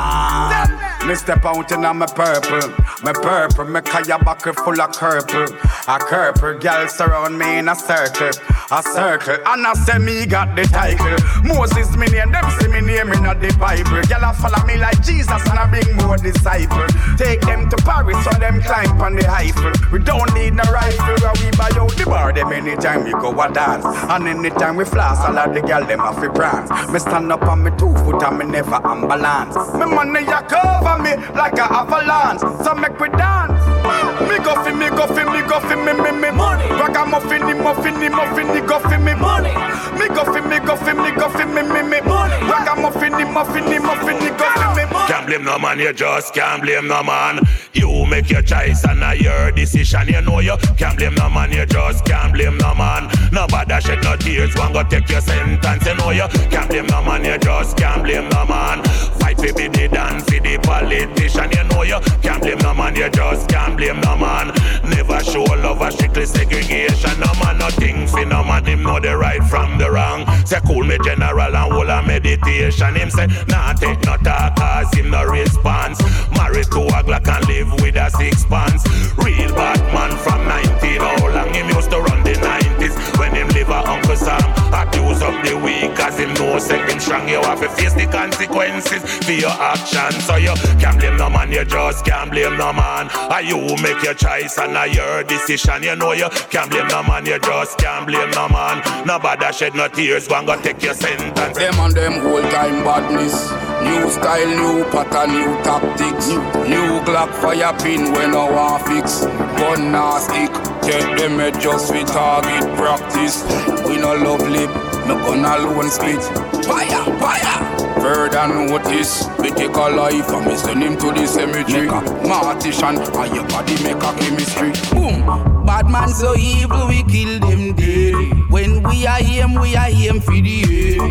Me step out in my purple, my purple, me kaya bucket full of purple. A purple girl surround me in a circle, a circle. And I say me got the title. Moses me name, them see me name in the Bible. Girl a follow me like Jesus and I bring more disciples. Take them to Paris so them climb on the Eiffel. We don't need no rifle, where we buy out the bar them anytime we go a dance. And anytime we floss, all of the girl them have to prance. Me stand up on me two foot and me never unbalance. Me money ya cover me like a avalanche, so make we dance. Me go fi, me go fi, me go fi, me, me, me money. Ragamuffin, the muffin, the muffin, the go fi, me money. Me go fi, me go fi, me go fi, me, me, me money. Ragamuffin, the muffin, the muffin, the go fi, me money. Can't blame no man, you just can't blame no man. You make your choice and I your decision, you know you can't blame no man, you just can't blame no man. Nobody shed no tears, one go take your sentence, you know you can't blame no man, you just can't blame no man. Fight for the dance, for the politician, you know you can't blame no man, you just can't blame no man. Never show love a strictly segregation, no man nothing for no man, him know the right from the wrong. Say cool me general and whole a meditation, him say nah take no talk cause him no response. Married to a Glock and live with a six pants. Real bad man from nineteen, how long him used to run the nineties. When him live a Uncle Sam, accuse of the weak cause him know say him strong. You have to face the consequences for your actions. So you can't blame no man, you just can't blame no man. And you make your choice and I your decision, you know you can't blame no man, you just can't blame no man. Nobody shed no tears, one go take your sentence. Them and them whole time badness. New style, new pattern, new tactics. New Glock fire pin when no one fix. Gun nah stick, take them head just with target practice. We no love lip, no gun alone split. Fire, fire! Further notice, we take a life and we send him to the cemetery. Martian, and your body make a chemistry. Boom! Bad man so evil, we kill them dead. When we are him, we are him for the air.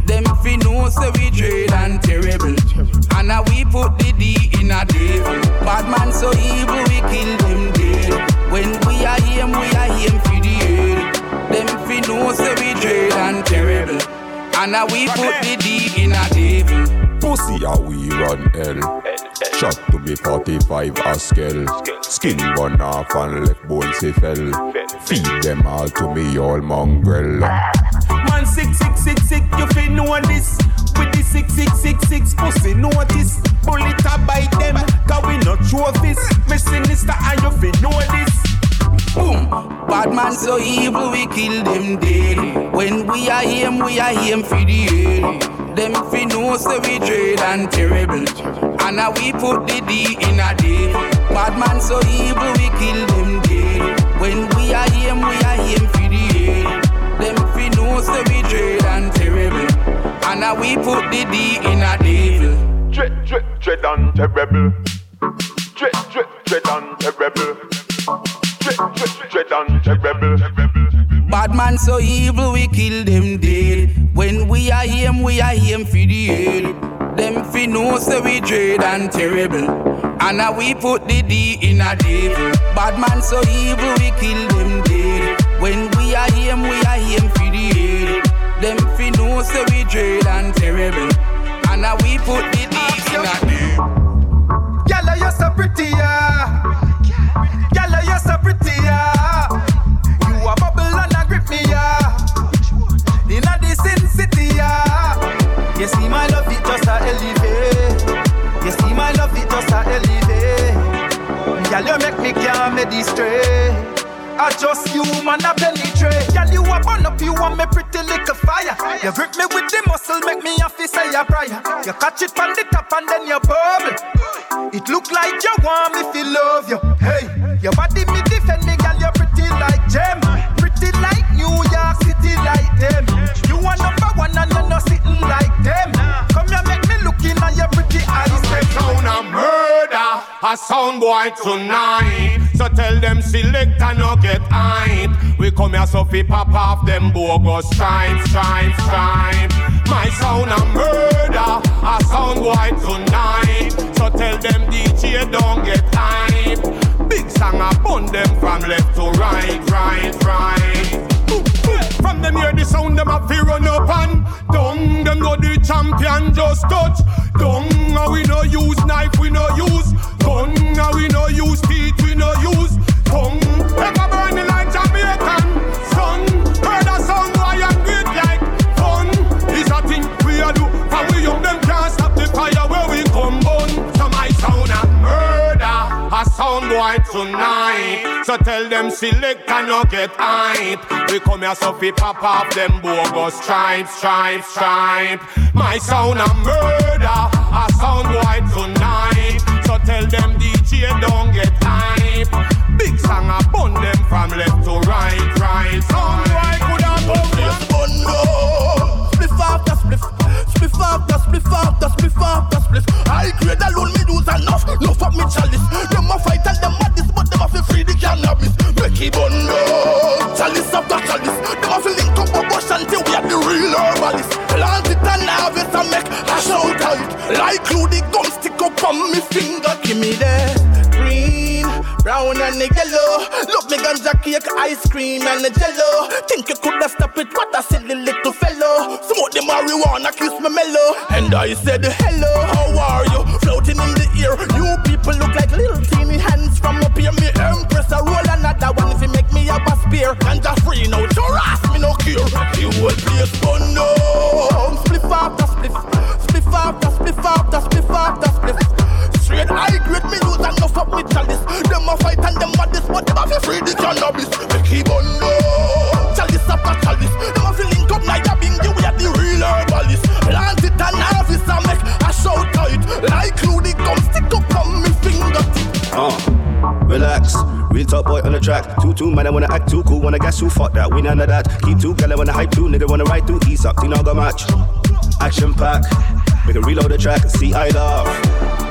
Them fi know say we dread and terrible. And now we put the D in a devil. Bad man so evil we kill them dead. When we are him, we are him for the head. Them fi know say we dread and terrible. And now we put the D in a devil. Pussy how we run hell. Shot to be forty-five a scale. Skin burn off and left bones he fell. Feed them all to me all mongrel. Man sick, sick, sick, sick, you fi know this. With the six, six, six, six pussy notice. Bullet a bite them, cause we not trophies. Me sinister and you fi know this. Boom! Bad man so evil we kill them dead. When we are him, we are him for the head. Them fi know say we dread and terrible. And now we put the D in a devil. Bad man so evil we kill them dead. When we are him, we are him for the head. Them fi know say we dread and terrible. And now we put the D in a devil. Dread, dread, dread and terrible. Dread, dread, dread and terrible. Dread, dread, dread and terrible. Bad man so evil we kill them dead. When we are him, we are him for the head. Them fi know say we dread and terrible. And now we put the D in a devil. Bad man so evil we kill them dead. When we are him, we are him for the head. Them fi know say we dread and terrible. And now we put the D in a devil. Gyal, you're so pretty, yeah. Gyal, you're so pretty, yeah. You a bubble and a grip me, yeah. Inna the sin city, yeah. You see my love, it just a elevate. You see my love, it just a elevate. Gyal, you make me can't me stray. I just you man a penetrate. Gyal, you a burn up, you want me pretty little fire. You grip me with the muscle, make me have to say a prayer. You catch it from the top and then you bubble. It look like you want me to love you. Hey, your body me defend me, girl. You're pretty like gem, pretty like New York City like them. You are number one and you're not sitting like them. Come here, make me look in at your pretty eyes. They sound a murder, a sound boy tonight. So tell them select and no get hype. We come here so fi pop off them bogus stripes, stripes, stripes. My sound a murder, a sound boy tonight. So tell them D J don't get hype. Big song a bun them from left to right, right, right. From them hear the sound them a fi run up and down. Them know the champion just touch down. And we no use knife, we no use gun. And we no use teeth, we no use tongue. Ever burning like Jamaican sun. Heard a sound boy and great like fun. It's a thing we a do, and we young them can't stop the fire where we come on. So my sound a murder, a sound boy tonight. So tell them select and no get hype. We come here so fi pop off them bogus stripes, stripes, stripes. My sound a murder, a sound boy tonight. So tell them D J don't get hype. Big song a bun them from left to right, right. Sound boy coulda come this bun. Spliff after spliff, spliff after spliff after spliff after spliff. I grade alone me do enough, no fuck me chalice. Them a fight and them a this, but them a fi free the cannabis. Make it bun low, chalice after chalice. Them a fi link up a bush until we are the real herbalist. Plant it and harvest and make a shout out. Like glue the gum stick up on me finger. Give me that green, brown and the yellow. Look me ganja cake, ice cream and the jello. Think you coulda stop it, what a silly little fellow. Smoke the marijuana, kiss me mellow. And I said hello, how are you? Floating in the air. You people look like little teeny hands from up here. Me empress a roll another one if you make me up a spear. Ganja free now, your ass me no cure. You will place fun no. Spliff after spliff, spliff after spliff after spliff after spliff. Straight high grade me lose and enough of me chalice. Them a fight and them a this, but them a fi free the cannabis. Make it bun no. Chalice after chalice. Them a fi link up like a bingy, we are the real herbalist. Plant it and harvest and make a shout out. Like glue the gum stick up on me fingertip. Uh, relax, real top boy on the track. Two two man I wanna act too cool, wanna guess who fuck that. We none of that. Keep two gal I wanna hype two, nigga wanna ride through. East up, thing now go match. Action pack, we can reload the track. See I love.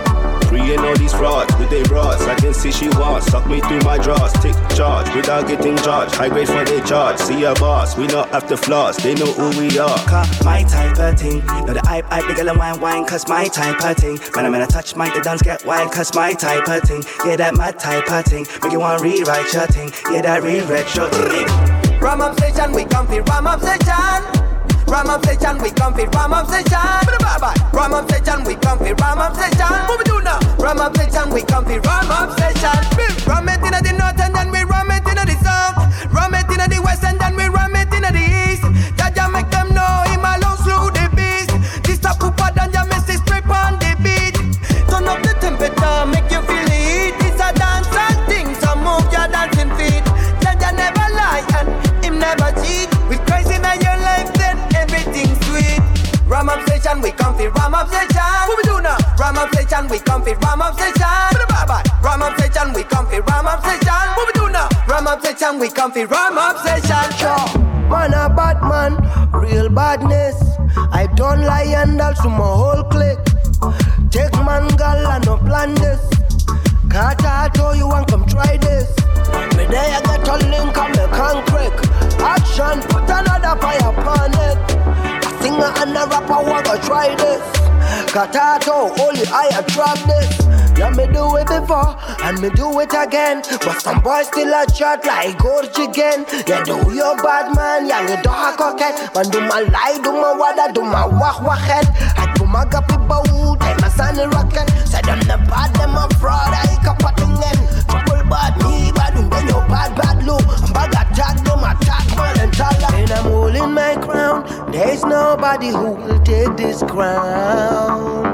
Freeing all these frauds with their bras. I can see she wants. Suck me through my drawers. Take charge without getting charged. High grade for their charge. See a boss. We not after flaws. They know who we are. Cause my type of thing. Now the hype, hype, the girl and wine, wine. Cause my type of thing. Man, I'm gonna touch my, the dance get wild. Cause my type of thing. Yeah, that my type of thing. Make you wanna rewrite your thing. Yeah, that rewrite your thing. Ram up session, we come for ram up session. Ram up session, we come for ram up session. Ram up session, we come for ram up session. What we do now? Ram up session, we come for ram up session. Ram it in the north and then we ram it in the south. Ram it in the west and then we ram it in the east. Jaja make them know him alone slew the beast. This a poopa than ya miss this strip on the beat. Turn up the temperature, make you feel the heat. It's a dance and thing, so move your dancing feet. Jaja never lie and him never cheat. With Christ in your life, then everything sweet. Ram up session, we come for ram up session. What we do now? Ram up session, we come for ram up session. Ram up session, we come for ram up session. What we do now? Ram up session, we come for ram up session. Sure, man a bad man, real badness. I don't lie and all to my whole clique. Take man girl and no plan this. Carter, I told you and come try this. Me there I get a link and me can crack. Action, put another fire upon it. A singer and a rapper wanna try this. Katato, only I attract this. Yeah, me do it before and me do it again. But some boys still a chat like Gorge again. Yeah, do your bad man, yeah, you do a coquette. Man, do my lie, do my wada, do my wah wah head. I do my gappy bow, time my sunny rocket. Say them the bad, them a fraud, I can put in them. Trouble bad, me bad, and then your bad, bad look. I'm bad attack, them attack, man, and taller. And I'm holding my crown. There's nobody who will take this crown.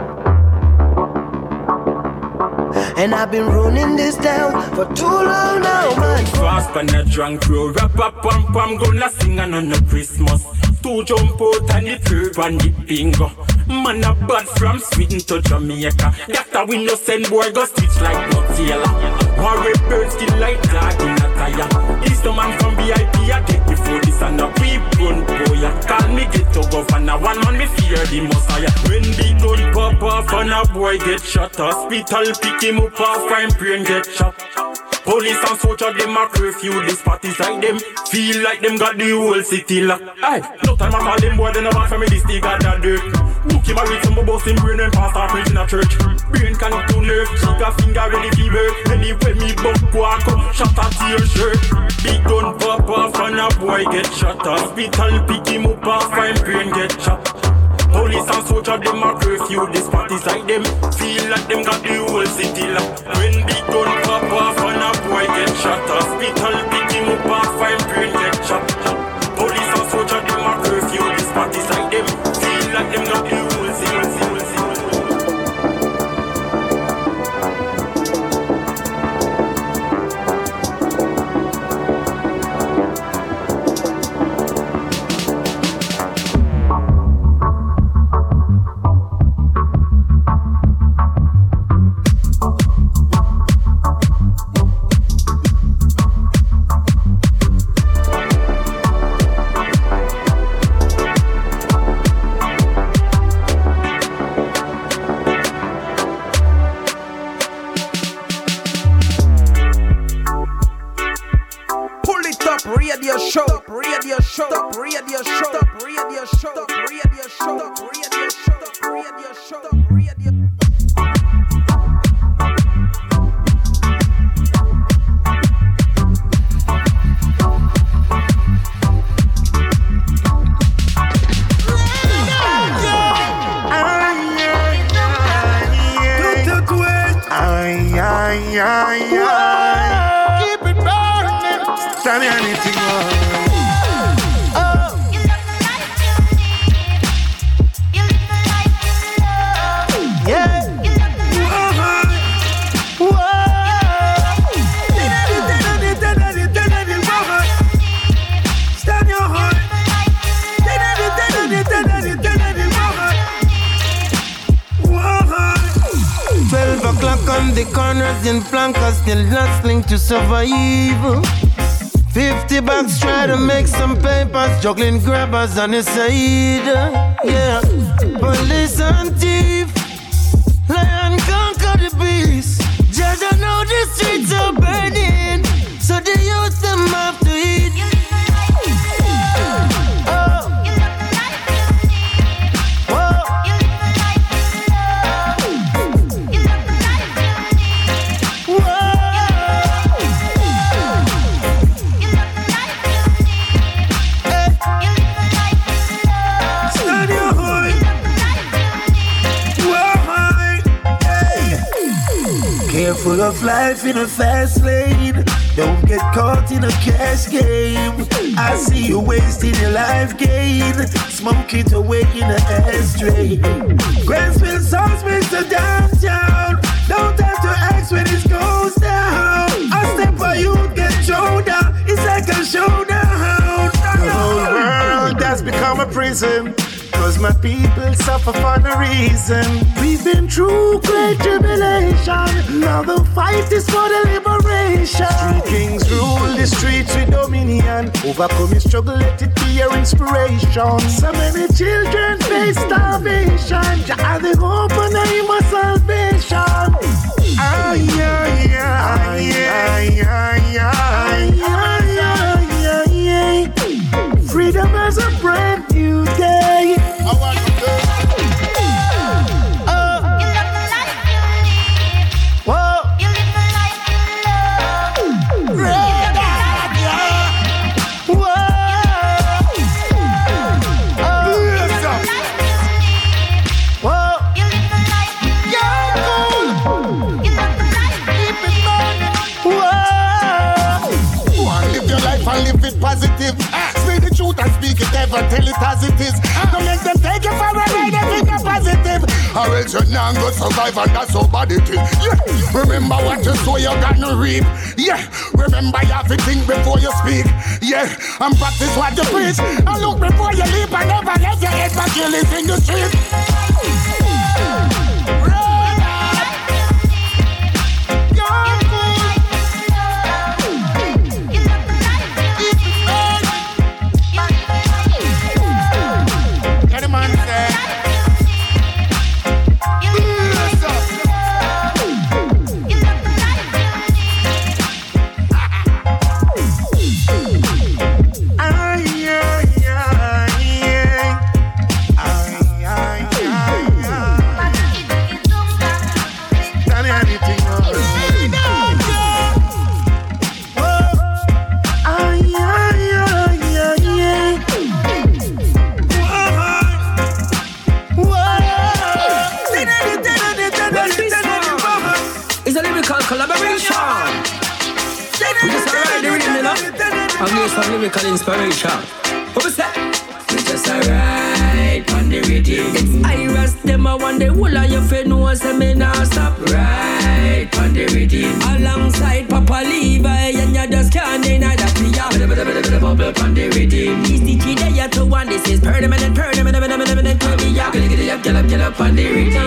And I've been running this town for too long now, man. Fast and a drunk crew, rap up, pam pam, gonna sing on a Christmas. Two jump out and the curve and the bingo. Man a bad from Sweden to Jamaica. That's we no send boy go stitch like no tailor. One red bird skin like dog in a tire. He's the man from V I P, I take the food, this and a peep gun boy. Call me get to governor, one man me fear the messiah. When the gun pop off and a boy get shot, hospital pick him up off and brain get shot. Police and soldier, them a curfew, this parties like them. Feel like them got the whole city locked. Aye, no time I call them boy, they never for me, this they got that dirt. Book him a read some boss in brain and pastor preach in a church. Brain cannot do nerve, cheek a finger ready fever. Anyway me bump walk up, shot at your shirt. Big gun pop off and a boy get shot. Hospital pick him up off and brain get shot. Police and soldier, them a curfew, this parties like them. Feel like them got the whole city locked. When big gun pop off and a boy get shot. Hospital pick him up off and brain get shot. Police and soldier, them a curfew, this parties like them. Feel like them got the whole city, city, city. Radio show, radio show, radio show, radio show, radio show, radio show, radio show, radio Keep it burning. Tell me anything. Oh. You live the life you need. You live the life you love. Yeah. You live the life you need. Stand your heart. Twelve o'clock on the corners in flankers, still hustling to survive. Fifty bucks try to make some papers, juggling grabbers on the side. Yeah, police and thief, lion conquer the beast. streets are burning, so the youth them have to eat. Careful of life in a fast lane. Don't get caught in a cash game. I see you wasting your life gain. Smoke it away in an ashtray. Grassville songs makes the downtown. Don't have to ask when it goes down. A step for you get thrown down. It's like a showdown. The whole world has become a prison. Cause my people suffer for no reason. We've been through great tribulation. Now the fight is for the liberation. Street kings rule the streets with dominion. Overcoming struggle, let it be your inspiration. So many children face starvation. Jah are the hope and aim of salvation. Ay, ay, ay, ay, ay, ay, ay, ay, ay. Freedom has a brand new day. I want to go. Oh. You live the life you live. Whoa. You live the life you love. Red eye. Whoa. Oh. You live the life you live. Whoa. You live the life you love. You live the life you live. Whoa. Go on, live your life and live it positive. Say the truth and speak it, never tell it as it is. Don't make them take you for a ride if it's not positive. Or else you're not gonna survive and that's how bad it is. Yeah. Remember what you sow, you're gonna reap. Yeah. Remember you have to think before you speak. Yeah. And practice what you preach. And look before you leap and never let your head back kill it in the street. Some lyrical inspiration. What was that? We just alright on the rhythm. It's Iris, them I want the whole of your friend knows them me now stop. Right on the rhythm. Alongside Papa Levi and you just can't deny that we are bubble on the rhythm. He's the key that you to one. This is permanent, permanent, permanent, permanent. We are gonna get it up, get up, get up on the rhythm.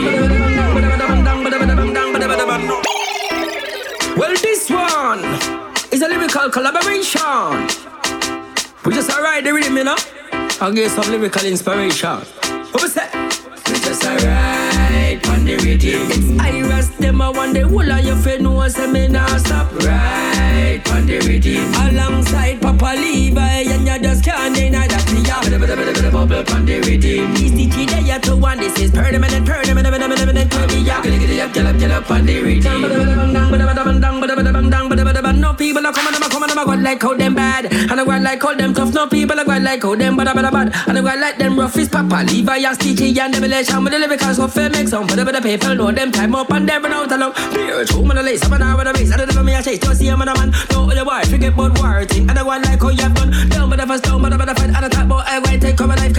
Well, this one is a lyrical collaboration. We just alright the rhythm, you know. I'll give some lyrical inspiration. What was that? We just alright on the rhythm. It's Iris, them I want the whole of your friend knows them me now stop. Right on the rhythm. Alongside Papa Levi and you just can't deny that we are bubble on the rhythm. He's the key that you to one. This is permanent, permanent, permanent. We are gonna get it up, get up, get up on the rhythm. No people are coming, I'm coming, I'm going like how them bad. And I'm going like how them tough. No people are going like how them bad, bad, bad. And I'm going like them rough is Papa Levi and Stitchy and Revelation. With the lyrics of fair make some. But the people know them time up and them out along. Beer, two man, a lace, I'm an hour with a race. I don't know me, I chase to see a man, a man. No, the boy, forget about war thing. And I'm going like how you have done. Down, but the first down, but the fight. And the top, but I'm going to take cover life.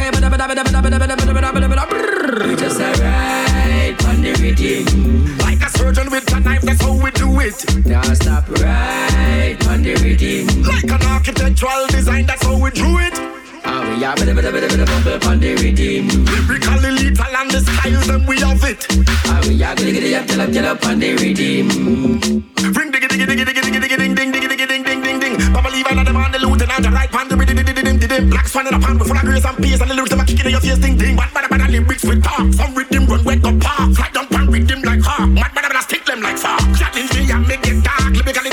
We just alright on the rhythm. Like a surgeon with a knife, that's how we do it. Now stop right on the rhythm. Like an architectural design, that's how we drew it. Ah, we are bit, bit, bit, bit, bit, on the rhythm. Lyrically lethal and the styles, then we have it. Ah, we are gonna get it up, get up, get up on the rhythm. Ring diggy diggy diggy diggy diggy diggy ding ding diggy diggy ding ding ding ding. Papa Levi and the man, the lieutenant, the right hand, the rhythm, the rhythm, the rhythm. Black swan in a pan, full of grace and peace, and the lyrics them a kicking in your face, ding ding. Bad bad bad lyrics with talk. Some rhythm run wake up park. Fly down pan rhythm like hawk. Mad bad bad stick them like fog. Challenge me and make it dark. Lyrical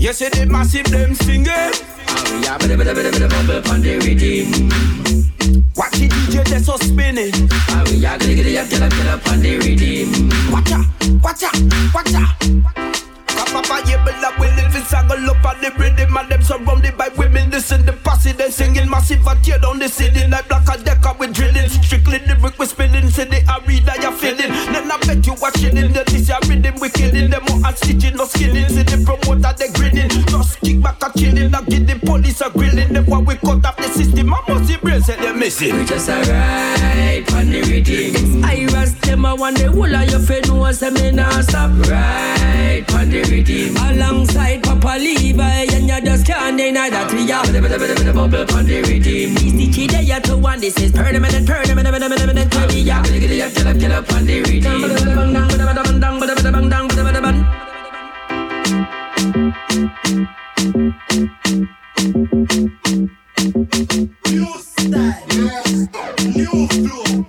You see the massive them singing. We are bada bada bada bada bumble on the rhythm. Watch the D J that's so spinning. We are gonna get it, get up, get up on the rhythm. Watch out, watch out, watch out. Papa, yeah, but I will live in saddle up on the rhythm. And them surrounded by women, listen the posse. Then singing massive, I tear down the city like black and decker with drilling. Strictly lyric with spinning, say the arena you're feeling. Then I bet you watching in the this your rhythm we killing. Them more and stitching, no skilling. See the promoter, they grinning. Just kick back and chilling. I get the police a grilling. Them while we cut off the system, I must see brain, say they're missing. We just alright on the rhythm. I was them, I want the whole of your friend who wants to me now stop. Right on the rhythm. Alongside Papa Levi, and you just can't deny that we are bada bada bada bada bubble on the rhythm. These the kid you to one, this is permanent, permanent, permanent, permanent. We are gonna get it, get up, get up on the rhythm. New style, new flow,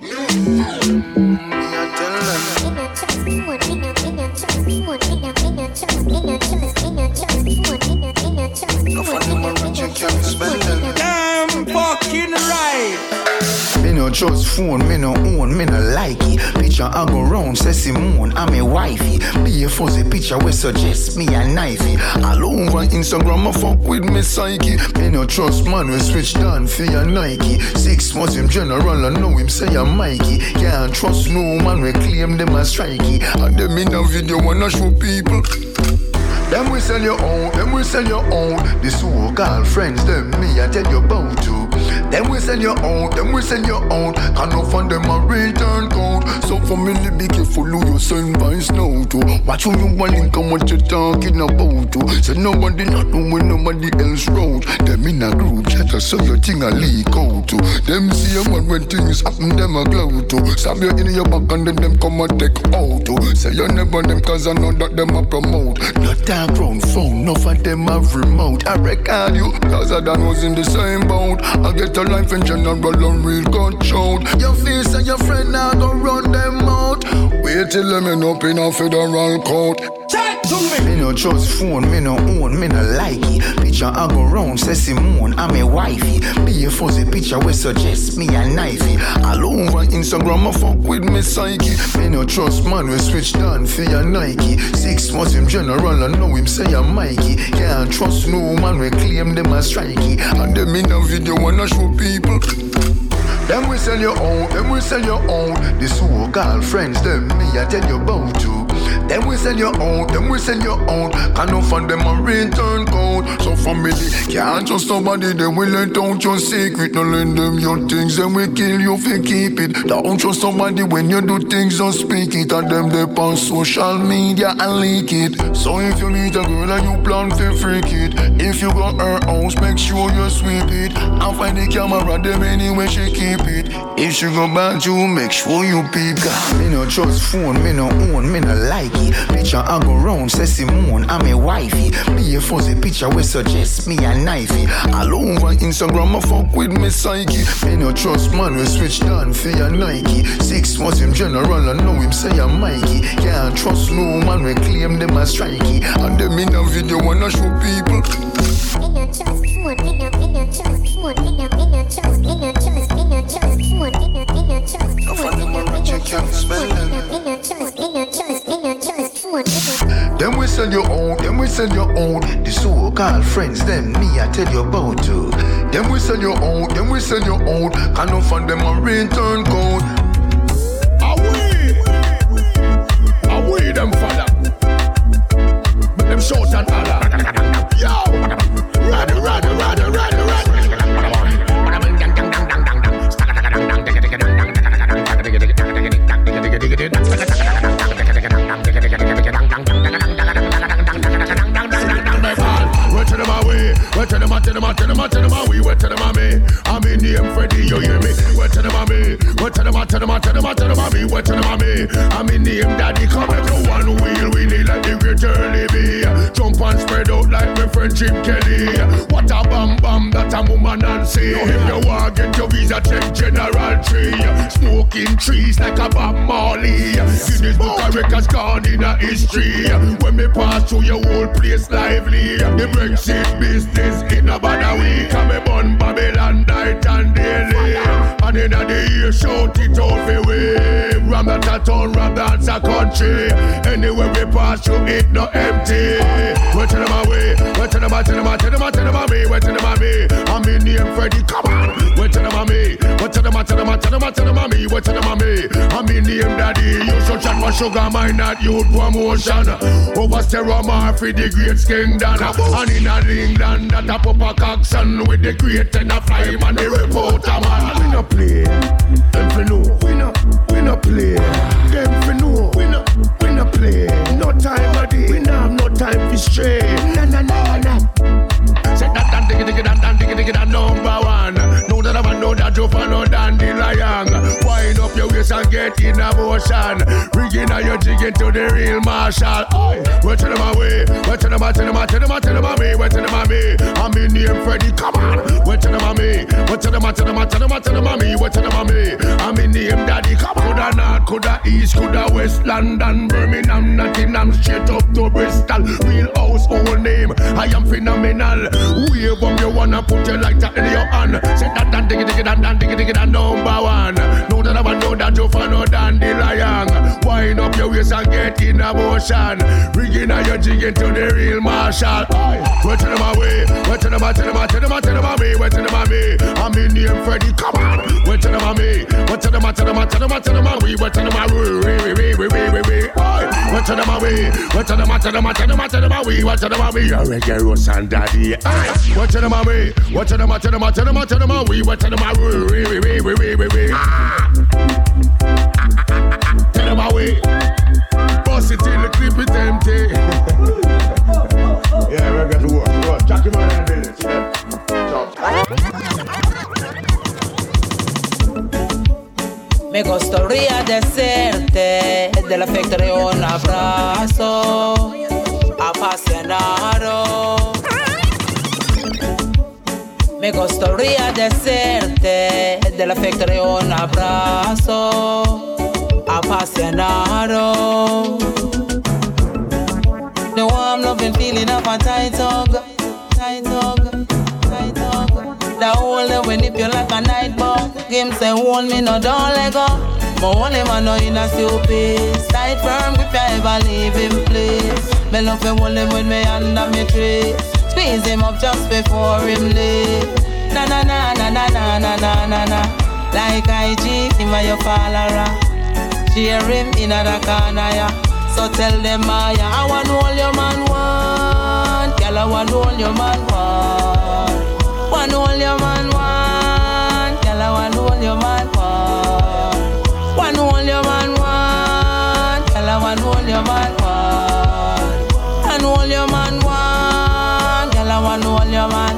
damn fucking right. Me no trust phone, me no own, me no like it. Picture I go round, say Simone, I'm a wifey. Be a fuzzy picture we suggest me a knifey. All over Instagram I fuck with me psyche. Me no trust man we switch down for your Nike. Six months him general I know him say I'm Mikey. Can't trust no man we claim them as strikey. And them in a video wanna show people. Them we sell your own, them we sell your own. The so-called friends, them me I tell you about to. Them we sell your own, them we sell your own. Can't no fund them a return code. So family be careful who you send vice now to. Watch who you want link and what you talking about to. Say nobody not know when nobody else wrote. Them in a group chat so your thing a leak out to. Them see a man when things happen them a glow to. Stab you in your back and then them come and take out to. Say you never them cause I know that them a promote. Not that ground phone, enough of them have remote. I record you, cause I done was in the same boat. I get a life in general and real got showed. Your face and your friend now go run them out. Wait till them end up in a federal court. Check to me. Me no trust phone, me no own, me no like it. Picture I go round, say Simone, I'm a wifey. Be a fuzzy picture we suggest me a knifey. All over Instagram I fuck with me psyche. Me no trust man we switch down for your Nike. Six months him general I know him say I'm Mikey. Can't trust no man we claim them as strikey. And them in a video wanna show people. Them we sell your own, them we sell your own. The so-called friends, them me I tell you about to. Them we sell your own, them we sell your own. Can't no fund them a return code. So family can't trust somebody, they will let out your secret. No lend them your things, then we kill you if you keep it. Don't trust somebody when you do things, don't speak it. And them they on social media and leak it. So if you meet a girl and you plan to freak it, if you got her house, make sure you sweep it. And find the camera, them anyway she keep it. If she go back you, make sure you peep. Me no trust phone, me no own, me no like it. Picture I go round, say Simone, I'm a wifey. Be a fuzzy picture we suggest me a knifey. All over Instagram I fuck with me psyche. Me no trust man we switch down for your Nike. Six months him general I know him say I'm Mikey. Can't trust no man we claim them as strikey. And them in a video wanna show people. Me no trust phone, me no, me no trust phone, me no, me no trust, me no trust, me no trust phone, me no, me no trust phone, me no, me no trust phone, me no, me no trust, me no trust, me no trust phone. Them we sell your own, them we sell your own. The so-called friends, them me I tell you about to. Them we sell your own, them we sell your own. Can't no fund them a return code. Away, away them fella. Make them shout and holler. Yo, ride, ride, ride, ride, ride. Where tell them, I tell them, I tell them, I tell them, I we where tell them, I me. I'm in name Freddy, you hear me? Where tell them, I me. Where tell them, I tell them, I tell them, I tell them, I me. Where tell them, I me. I'm in name Daddy, come and go one wheel. We need like the great early be. Jump and spread out like my friend Jim Kelly. What a bam bam, that a woman and say. If you want get your visa, check General Tree. Snow smoking trees like a Bob Marley. Guinness Book of Records gone in a history. When me pass through your whole place lively. The Brexit business in a bad week. And me burn Babylon night and daily. And in the year shout it out for way. Ram that a town, ram that's a country. Anywhere we pass through it no empty. Where to them away? Where to them, to them, to them, to them, me? Where to them, me? I'm in name Freddy, come on. Where to them, me? Where to them, to them, to them, to them, me? Where to them, me? I'm in name Daddy. You should chat for sugar, mine not youth promotion. Over Steromar for the great Skingdon. And in a England that a pop a action with the great and a fly man, the reporter man. We no play, them for know. We no, we no play, them for know. We no, we no play. No time a day, we no have no time for stray. Na na na na. Say that that diggy diggy that that diggy diggy that number one. Know that I know that you follow dandelion. Wind up your waist and get in a motion. Rigging out your jigging to the real marshal. Where to them away? Where to them? To them? To them? To them? Me? Where to them? Me? I'm in name Freddy. Come on. Where to them? Me? Where to them? To them? To them? To them? Me? Where to them? Me? I'm in name Daddy. Come on. Coulda North, coulda East, coulda West London, Birmingham, Nottingham, straight up to Bristol. Real household name. I am phenomenal. Wave up you wanna put your lighter in your hand. Say that that diggy diggy that that diggy diggy that number one. Know that I know that you follow dandelion. Wind up your waist and get in a motion. Rigging out your jigging to the real marshal. Where to them away? Where to them? To them? To them? To them? Me? Where to them? Me? I'm in name Freddy. Come on. Where to them? Me? Where to them? To them? To them? To them? We? Where to them? We? We? We? We? We? We? We? Where to them? We? Where to them? To them? To them? To them? We? Where to them? We? Reggae Rose and Daddy. What to them a me? What to them a to them a to them a to them a we? What to them a we? We we we we we we. Tell them a we. Bust it till the clip it empty. Yeah, we're going to work. Go, Jackie man and Billy. Me gustaría decirte del afecto de un abrazo apasionado. Me gustaría decirte del afecto de un abrazo apasionado. The warm loving feeling of a tight hug, tight hug, tight hug. The hold them when if you like a night bug. Him say hold me no don't let go. But only man know in a stupid. Tight firm if you ever leave him place. Me love him hold him with me under me tree. Squeeze him up just before him leave. Na na na na na na na na na na. Like I G, him a your follower. Share him in a the corner, yeah. So tell them, Maya, I want all your man want. Girl, I want all your man want. Want all your man want. Girl, I want all your man want. Want all your man want. Girl, I want all your man want. Want all your man want. Girl, I want all your man.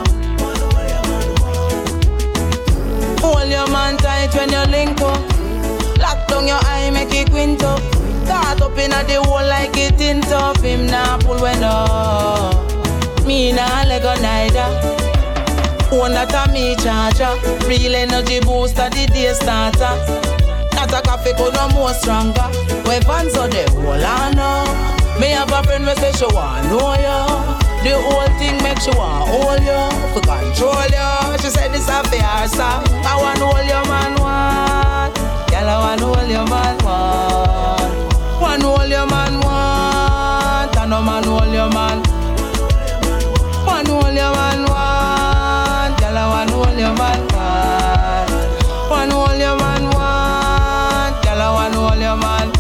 Hold your man tight when you link up. Lock down your eye, make it quint up. Start up in a the hole like it in top. Him nah pull when up. Me nah let go neither. Own that a me charger. Real energy booster, the day starter. Not a coffee could no more stronger. Weapons so the whole I know. Me have a friend who say she want know you. The whole thing make she want hold you. For control you. She said this a fair song. I want hold your man want. Girl I want hold your man want. One hold your man want. And no man hold your man. One hold your man want. Girl I want hold your man want. One hold your man want. Girl I want hold your man.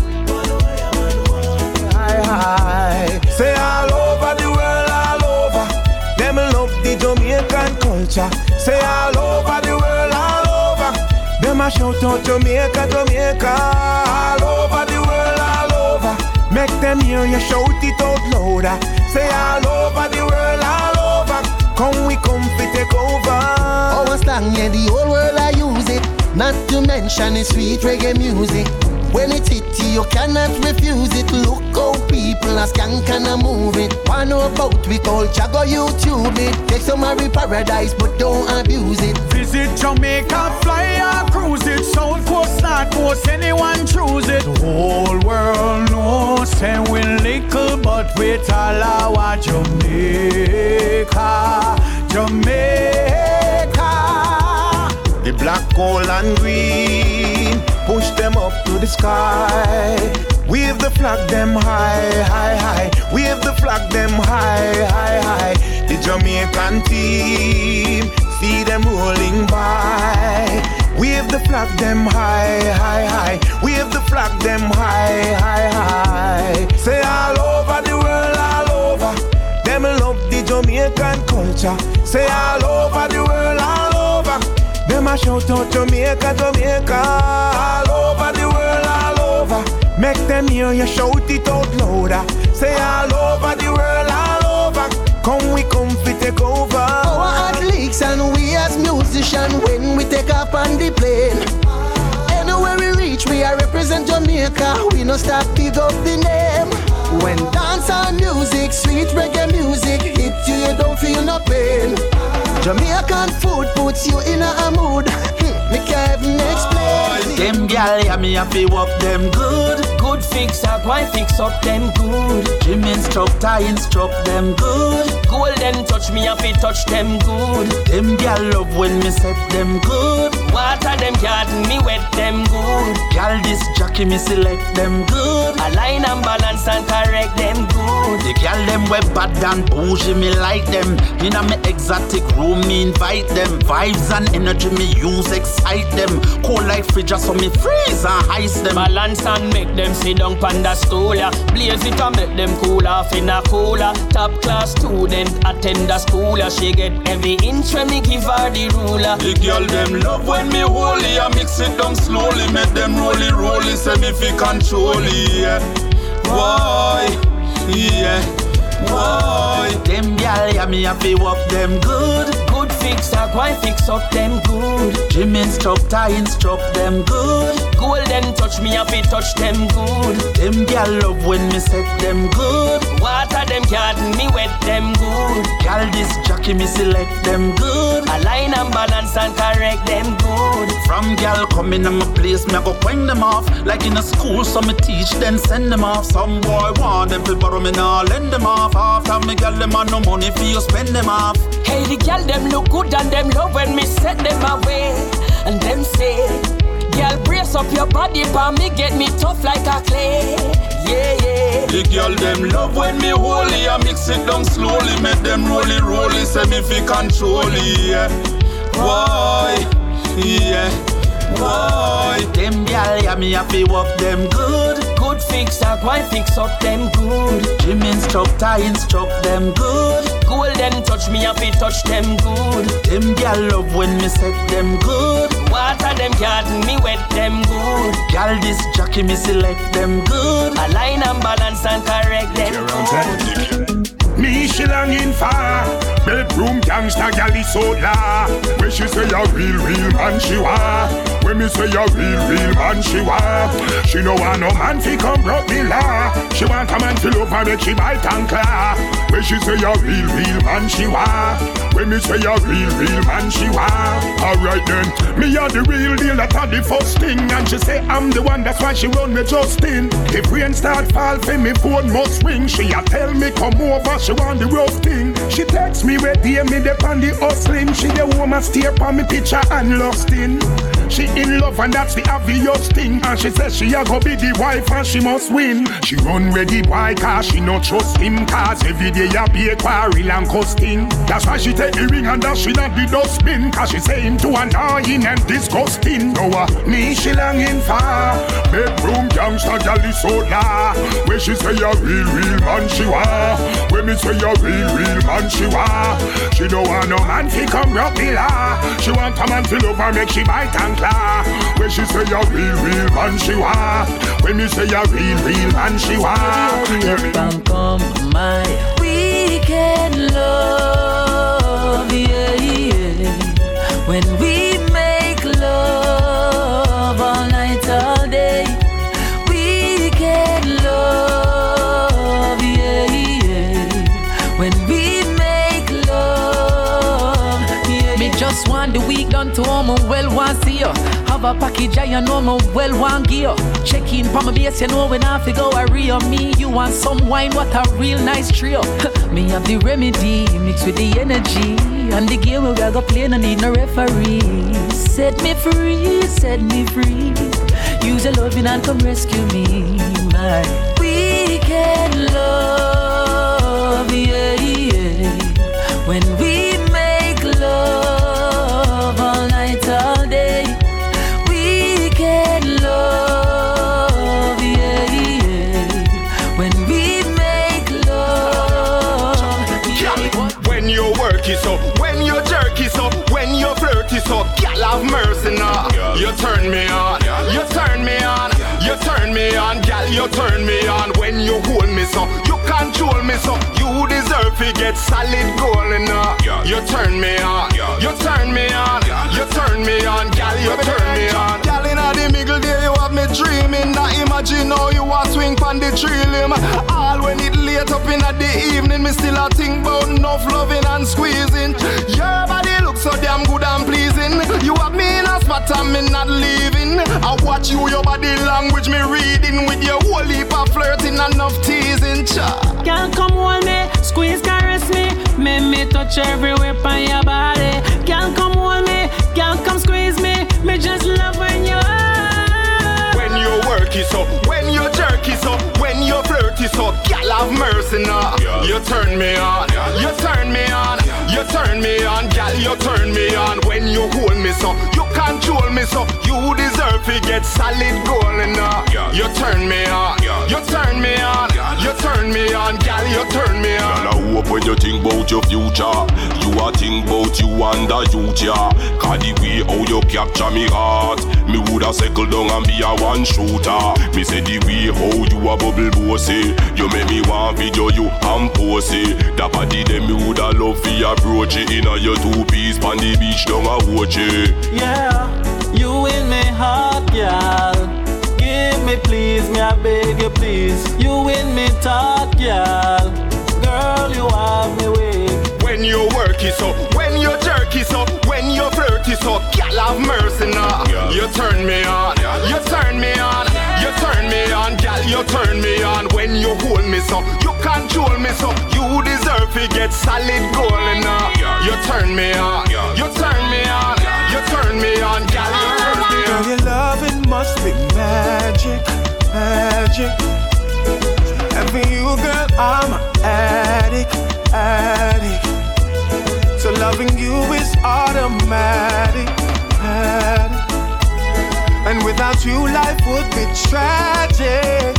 Hi, hi. Say all over the world, all over. Them love the Jamaican culture. Say all over the world, all over. Them a shout out Jamaica, Jamaica. All over the world, all over. Make them hear you shout it out louder. Say all over the world, all over. Come we come fi take over. Our slang, yeah, the whole world I use it. Not to mention the sweet reggae music. When it's hit you cannot refuse it. Look how people are skank and a move it. One want know about we culture, go YouTube it. Take some of paradise, but don't abuse it. Visit Jamaica, fly or cruise it. South Coast, North Coast, anyone choose it. The whole world knows, say we little, but we all our Jamaica, Jamaica. The black, gold and green, push them up to the sky. Wave the flag them high, high, high. Wave the flag them high, high, high. The Jamaican team, see them rolling by. Wave the flag them high, high, high. Wave the flag them high, high, high. Say all over the world, all over. Them love the Jamaican culture. Say all over the world, all over. Them a shout out Jamaica, Jamaica. All over the world, all over. Make them hear you shout it out louder. Say all over the world, all over. Come we come fi take over. Our athletes and we as musicians, when we take up on the plane, anywhere we reach, we are represent Jamaica. We no stop big up the name. When dance and music, sweet reggae music hit you, you don't feel no pain. Jamaican food puts you in a mood. Me can't even explain. Them gal, yeah, me happy walk them good. Good fix up, why fix up them good. Gym instructor instruct them good. Golden touch me happy touch them good. Them gal love when me set them good. Water them garden, me wet them good. Gal this jockey me select them good. Align and balance and correct them good. The gal them web bad and bougie, me like them. In a me exotic room, me invite them. Vibes and energy me use, excite them. Cold like fridge, so me freeze and ice them. Balance and make them sit down pan the stool, yeah. Blaze it and make them cool off in a cooler. Top class student attend the school, yeah. She get every inch when me give her the ruler. The girl them love when me hold it, I mix it down slowly. Make them roll it, roll it, say me fi control it, yeah. Why, yeah. Why? Them gal, yeah, me happy walk them good. Good fix up, why fix up them good. Gym instructor instruct them good. Golden touch me happy touch them good. Them gal love when me set them good. Water them garden, me wet them good. Gal this jockey me select them good. Align and balance and correct them good. From gal coming in my place, me I go bring them off. Like in a school, so me teach then send them off. Some boy want them to borrow me now, lend them off. After me gal them have no money for you spend them off. Hey, the gal them look good and them love when me set them away. And them say, gal brace up your body for me get me tough like a clay. Yeah, yeah. The girl them love when me hold it, I mix it down slowly. Make them roll it, roll it, say me fi control it, yeah. Why, yeah. Why? Them gal, yeah, me happy walk them good. Good fix up, why fix up them good. Gym instructor instruct them good. Golden touch me happy touch them good. Them gal love when me set them good. Water them garden, me wet them good. Gal this jockey me select them good. Align and balance and correct them good. Me she longing for bedroom gangsta gal is so la. When she say a real real man she want. When me say a real real man she want. She no want no man fi come broke me la. She want a man to love her make she bite and claw. When she say a real real man she want. When me say a real real man she want. Alright then, me a the real deal, that a the first thing. And she say I'm the one, that's why she run me Justin. If rain start fall for me phone must ring. She a tell me come over, she want the rough thing. She text me where dear me dep on the hustling. She the woman stare on me picture and lost in. She in love and that's the obvious thing. And she says she a go be the wife and she must win. She run ready boy cause she no trust him. Cause every day a be a quarrel and costing. That's why she take the ring and that she not the dustbin. Cause she say him too annoying and disgusting. No uh, me she longing for bedroom gangsta gal is so la. When she say a real real man she want. When me say a real real man she want. She don't want no man fi come rock the law. She want a man to love her make she bite and claw. When she say a real real man she want. When me say a real real man she want. Come come my weekend love, yeah yeah. When we make love all night all day. Weekend love, yeah yeah. when we make love. Yeah, me just want the week done to all my well want see you. Have a package I know my well want gear. Check in from my base, you know when I fi go a real me. You want some wine, what a real nice trio. Me have the remedy mixed with the energy. And the game we go play, no need no referee. Set me free, set me free. Use your loving and come rescue me, my weekend love, yeah, yeah. When we make love all night, all day. Weekend love, yeah, yeah. When we make love, yeah. When you work it up, when you jerk it up, when you flirt it up, girl have mercy now. You turn me on, you turn me on, you turn me on, girl, you turn me on. When you hold me so, you control me so, you deserve to get solid gold enough. You turn me on, you turn me on, you turn me on, girl, you turn me on. Girl, inna the middle there you have me dreaming. Now imagine how you a swing pon the tree limb. All when it late up inna the evening, me still a think about enough loving and squeezing. Your body looks so damn good and pleasing. You have me in a spot and me not leaving. I watch you, your body language me reading. With your whole heap of flirting and enough teasing. Girl, come hold me, squeeze, caress me. Make me touch everywhere on your body. Girl, come hold me, girl, come squeeze me. Me just love when you are. When you work it up, when you jerk it up, when you flirt it up, girl have mercy now. Yeah. You turn me on, yeah. You turn me on, yeah. You turn me on, girl, you turn me on. When you hold me so, you control me so, you deserve to get solid gold enough. Yeah. You turn me on, yeah. You turn me on, yeah. You turn me on, girl, you turn me on. Girl, I hope when you think about your future, you a think about you and the youth, yeah. Cause the way how you capture me heart, me woulda settle down and be a one shooter. Me say the way how you a bubble bossy, you make me want video you and pose it. That body them me woulda love for approach it. Inna your two piece pon the beach down a watch it. Yeah, you in me heart, girl. Give me please, me I beg you please. You in me thought, girl. Girl, you have me weak. When you work it up, when you jerk it up, when you flirt it up, girl have mercy now. Yeah. You turn me on, yeah. You turn me on, yeah. You turn me on, girl, you turn me on. When you hold me so, you control me so, you deserve to get solid gold enough. Yeah. You turn me on, yeah. You turn me on, yeah. You turn me on, girl, you turn me on. Girl, your loving must be magic, magic. And for you, girl, I'm an addict, addict. So loving you is automatic, addict. And without you, life would be tragic.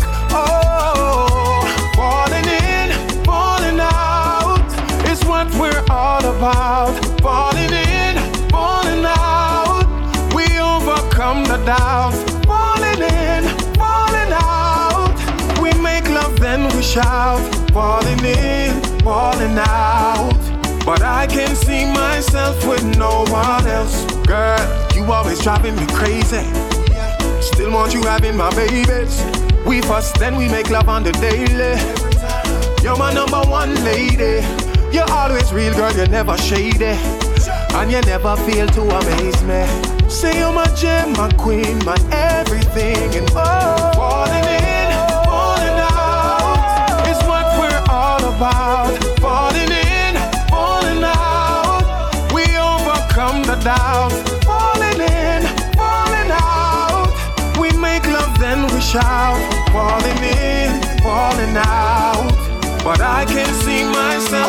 Oh, falling in, falling out is what we're all about. Falling in, falling out, we overcome the doubts. Falling in, falling out, we make love then we shout. Falling in, falling out, but I can see myself with no one else. Girl, you always driving me crazy. Still want you having my babies. We fuss, then we make love on the daily. You're my number one lady. You're always real, girl, you're never shady. And you never fail to amaze me. Say you're my gem, my queen, my everything and more. Falling in, falling out is what we're all about. Falling in, falling out, we overcome the doubts. Falling in, falling out, we make love then we shout. Falling in, falling out, but I can see myself.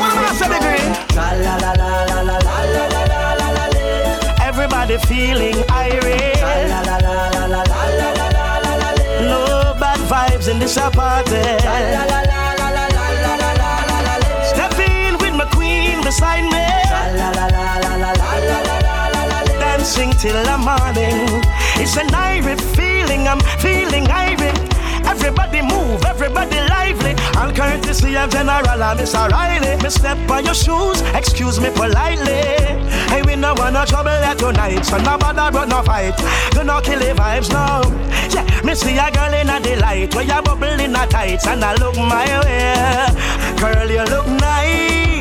La la la la la la la la la la la. Everybody feeling irate. La la la la la la la la la la. No bad vibes in this party. La la la la la la la la la la. Step in with my queen beside me. La la la la la la la la la la. Dancing till the morning. It's an irate feeling. I'm feeling irate. Everybody move, everybody lively. All courtesy of General and Miss O'Reilly. Me step on your shoes, excuse me politely. Hey, we no want no trouble here tonight, so no bother run no fight. Do not kill the vibes now. Yeah, me see a girl in a delight, where you bubble in a tights, and I look my way. Girl, you look nice.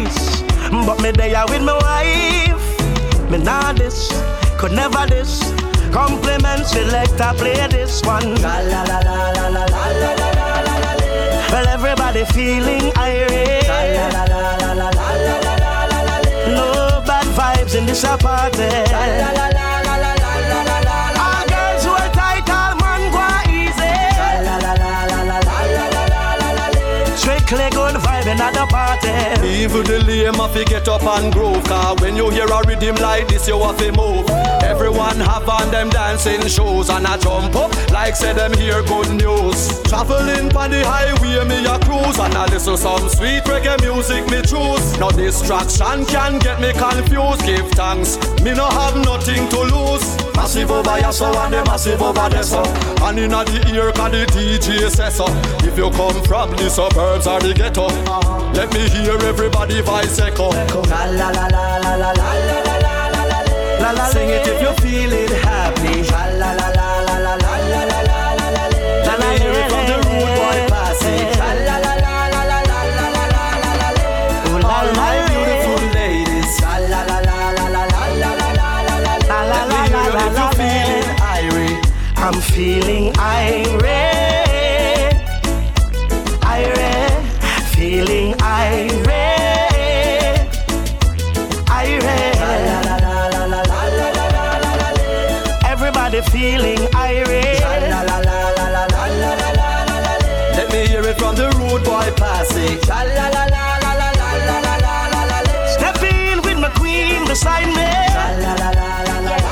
but me there with my wife. Me nah this, could never this. Compliment selector, play this one. La la la la la la la la la la la. Well, everybody feeling irate. La la la la la la la la la la. No bad vibes in this party. La la la la la la la la la. All girls who are tight, all man go easy. La la la la la la la la la la. Strictly good vibe in the party. Even the lame have to get up and groove. Cause when you hear a rhythm like this, you have to move. Everyone have on them dancing shoes. And I jump up like say them hear good news. Traveling on the highway, me a cruise. And I listen some sweet reggae music, me choose. No distraction can get me confused. Give thanks, me no have nothing to lose. Massive over here so and the massive over there so. And in the ear can the D J says so. If you come from the suburbs or the ghetto, let me hear everybody voice echo. La la la la la la la la la la la. Sing it if you feel it happy. La la la la la la la la la la la. Let me hear it from the rude boy passage. La la la la la la la la la la la. All my beautiful ladies. La la la la la la la la la la la. Let me hear it if you feeling irate. I'm feeling irate, irate, feeling irate, irate. La la la la la la la la la la. Everybody feeling irate. La la la la la la la la la la. Let me hear it from the rude boy passage. La la la la la la la la la la la. Step in with my queen beside me. La la la la la la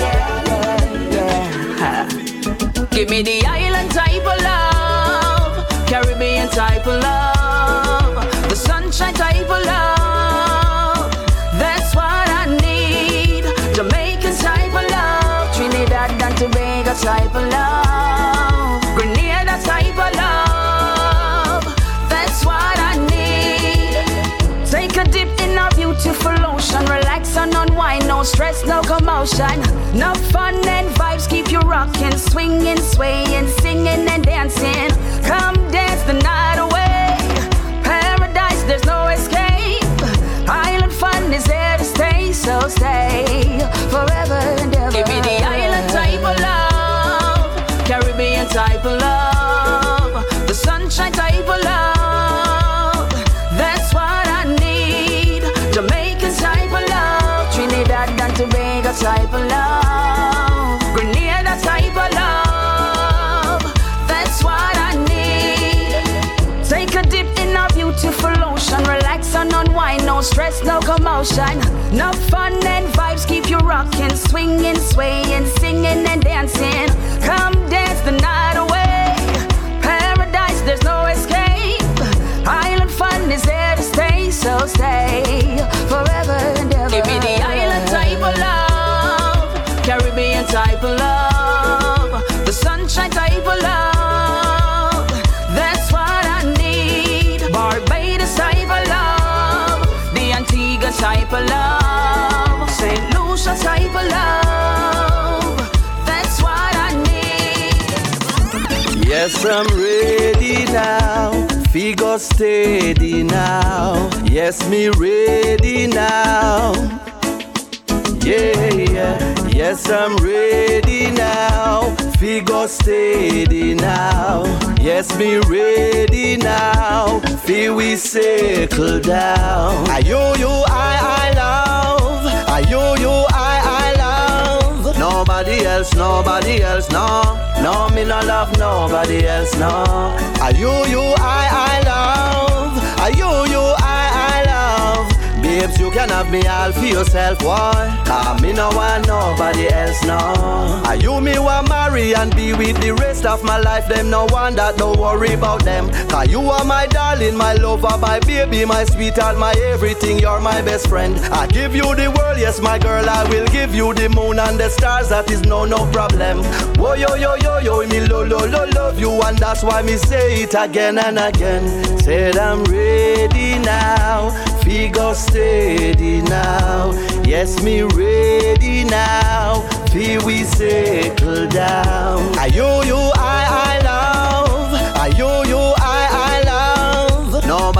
la. Give me the island type of love, Caribbean type of love, the sunshine type of love. That's what I need. Jamaican type of love, Trinidad and Tobago type of love, Grenada type of love. That's what I need. Take a dip in our beautiful ocean, relax and unwind, no stress, no commotion. No fun and vibes keep you rocking, swinging, swaying, singing and dancing. Come dance the night away. Paradise, there's no escape. Island fun is here to stay, so stay forever and ever. Give me the island type of love, Caribbean type of love, the sunshine type of love. That's what I need. Jamaican type of love, Trinidad and Tobago type of love, Grenada type of love. That's what I need. Take a dip in our beautiful ocean, relax and unwind, no stress, no commotion. No fun and vibes keep you rocking, swinging, swaying, singing and dancing. Come dance the night away. Paradise, there's no escape. Island fun is here to stay, so stay forever and ever. Give me the island type of love, Caribbean type of love, the sunshine type of love. That's what I need. Barbados type of love, the Antigua type of love, Saint Lucia type of love. That's what I need. Yes, I'm ready now. Figure steady now. Yes, me ready now. Yeah, yeah. Yes, I'm ready now. Figure steady now. Yes, me ready now. Feel we circle down. I you, you, I, I love. I you, you, I, I love. Nobody else, nobody else, no. No, me no love nobody else, no. I you, you, I, I love. I you, you, I, I love. Babes, you can have me all for yourself, why? Cause me no want nobody else, no. Are you me want marry and be with the rest of my life? Them no one that don't worry about them. Cause you are my darling, my lover, my baby, my sweetheart, my everything. You're my best friend. I give you the world, yes, my girl. I will give you the moon and the stars. That is no, no problem. Whoa, yo, yo, yo, yo, me lo, lo, lo, love you. And that's why me say it again and again. Said I'm ready now. Figure steady now. Yes, me ready now. Feel we settle down. I you, you, I, I love. I you, you, I, I love. Nobody else.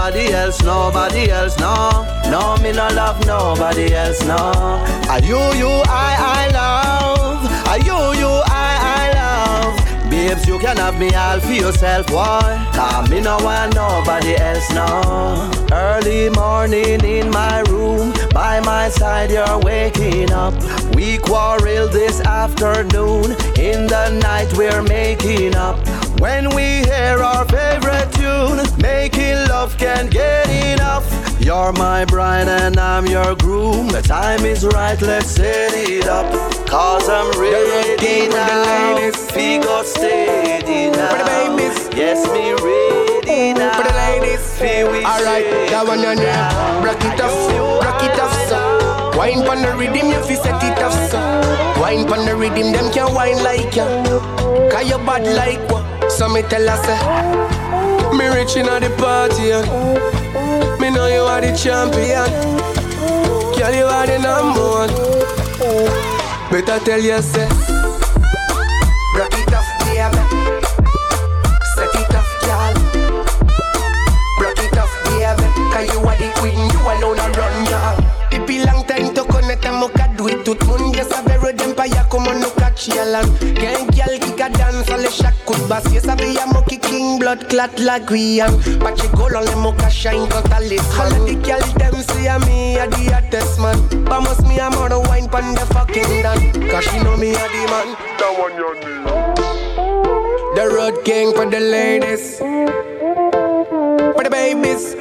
else, nobody else, no. No, me no love nobody else, no. Are you, you, I, I love. Are you, you, I, I love. Babes, you can have me all for yourself, why? Cause me no want nobody else, no. Early morning in my room, by my side you're waking up. We quarrel this afternoon, in the night we're making up. When we hear our favorite tune, making love can't get enough. You're my bride and I'm your groom. The time is right, let's set it up. Cause I'm ready now. Figure steady now. For the babies. Yes, me ready now. For the ladies. Alright, that one on there. Rock it off, rock it off, so. Wine pon the rhythm, you fi set it off, so. Wine pon the rhythm, them can wine like ya. Cause you bad like what? So me tell her say, me rich inna the party, yeah. Me know you are the champion. Girl, you are the number one. Better tell you say, rock it off, baby. Set it off, girl. Rock it off, baby. Cause you are the queen, you alone a run, girl. It be long time to connect and muka do it tout moun. Yes, a vero d'empire, come on, no catch yalan. Gang girl kick a dance, all the shack could bass. Yes, a be a monkey king, blood clot like we am. But you go on the mocha shine, cut a list. All of the girl them see a me a the hottest man. But must me a more wine pon the fucking done. Cause she know me a the man. That one you need. The road king for the ladies, for the babies,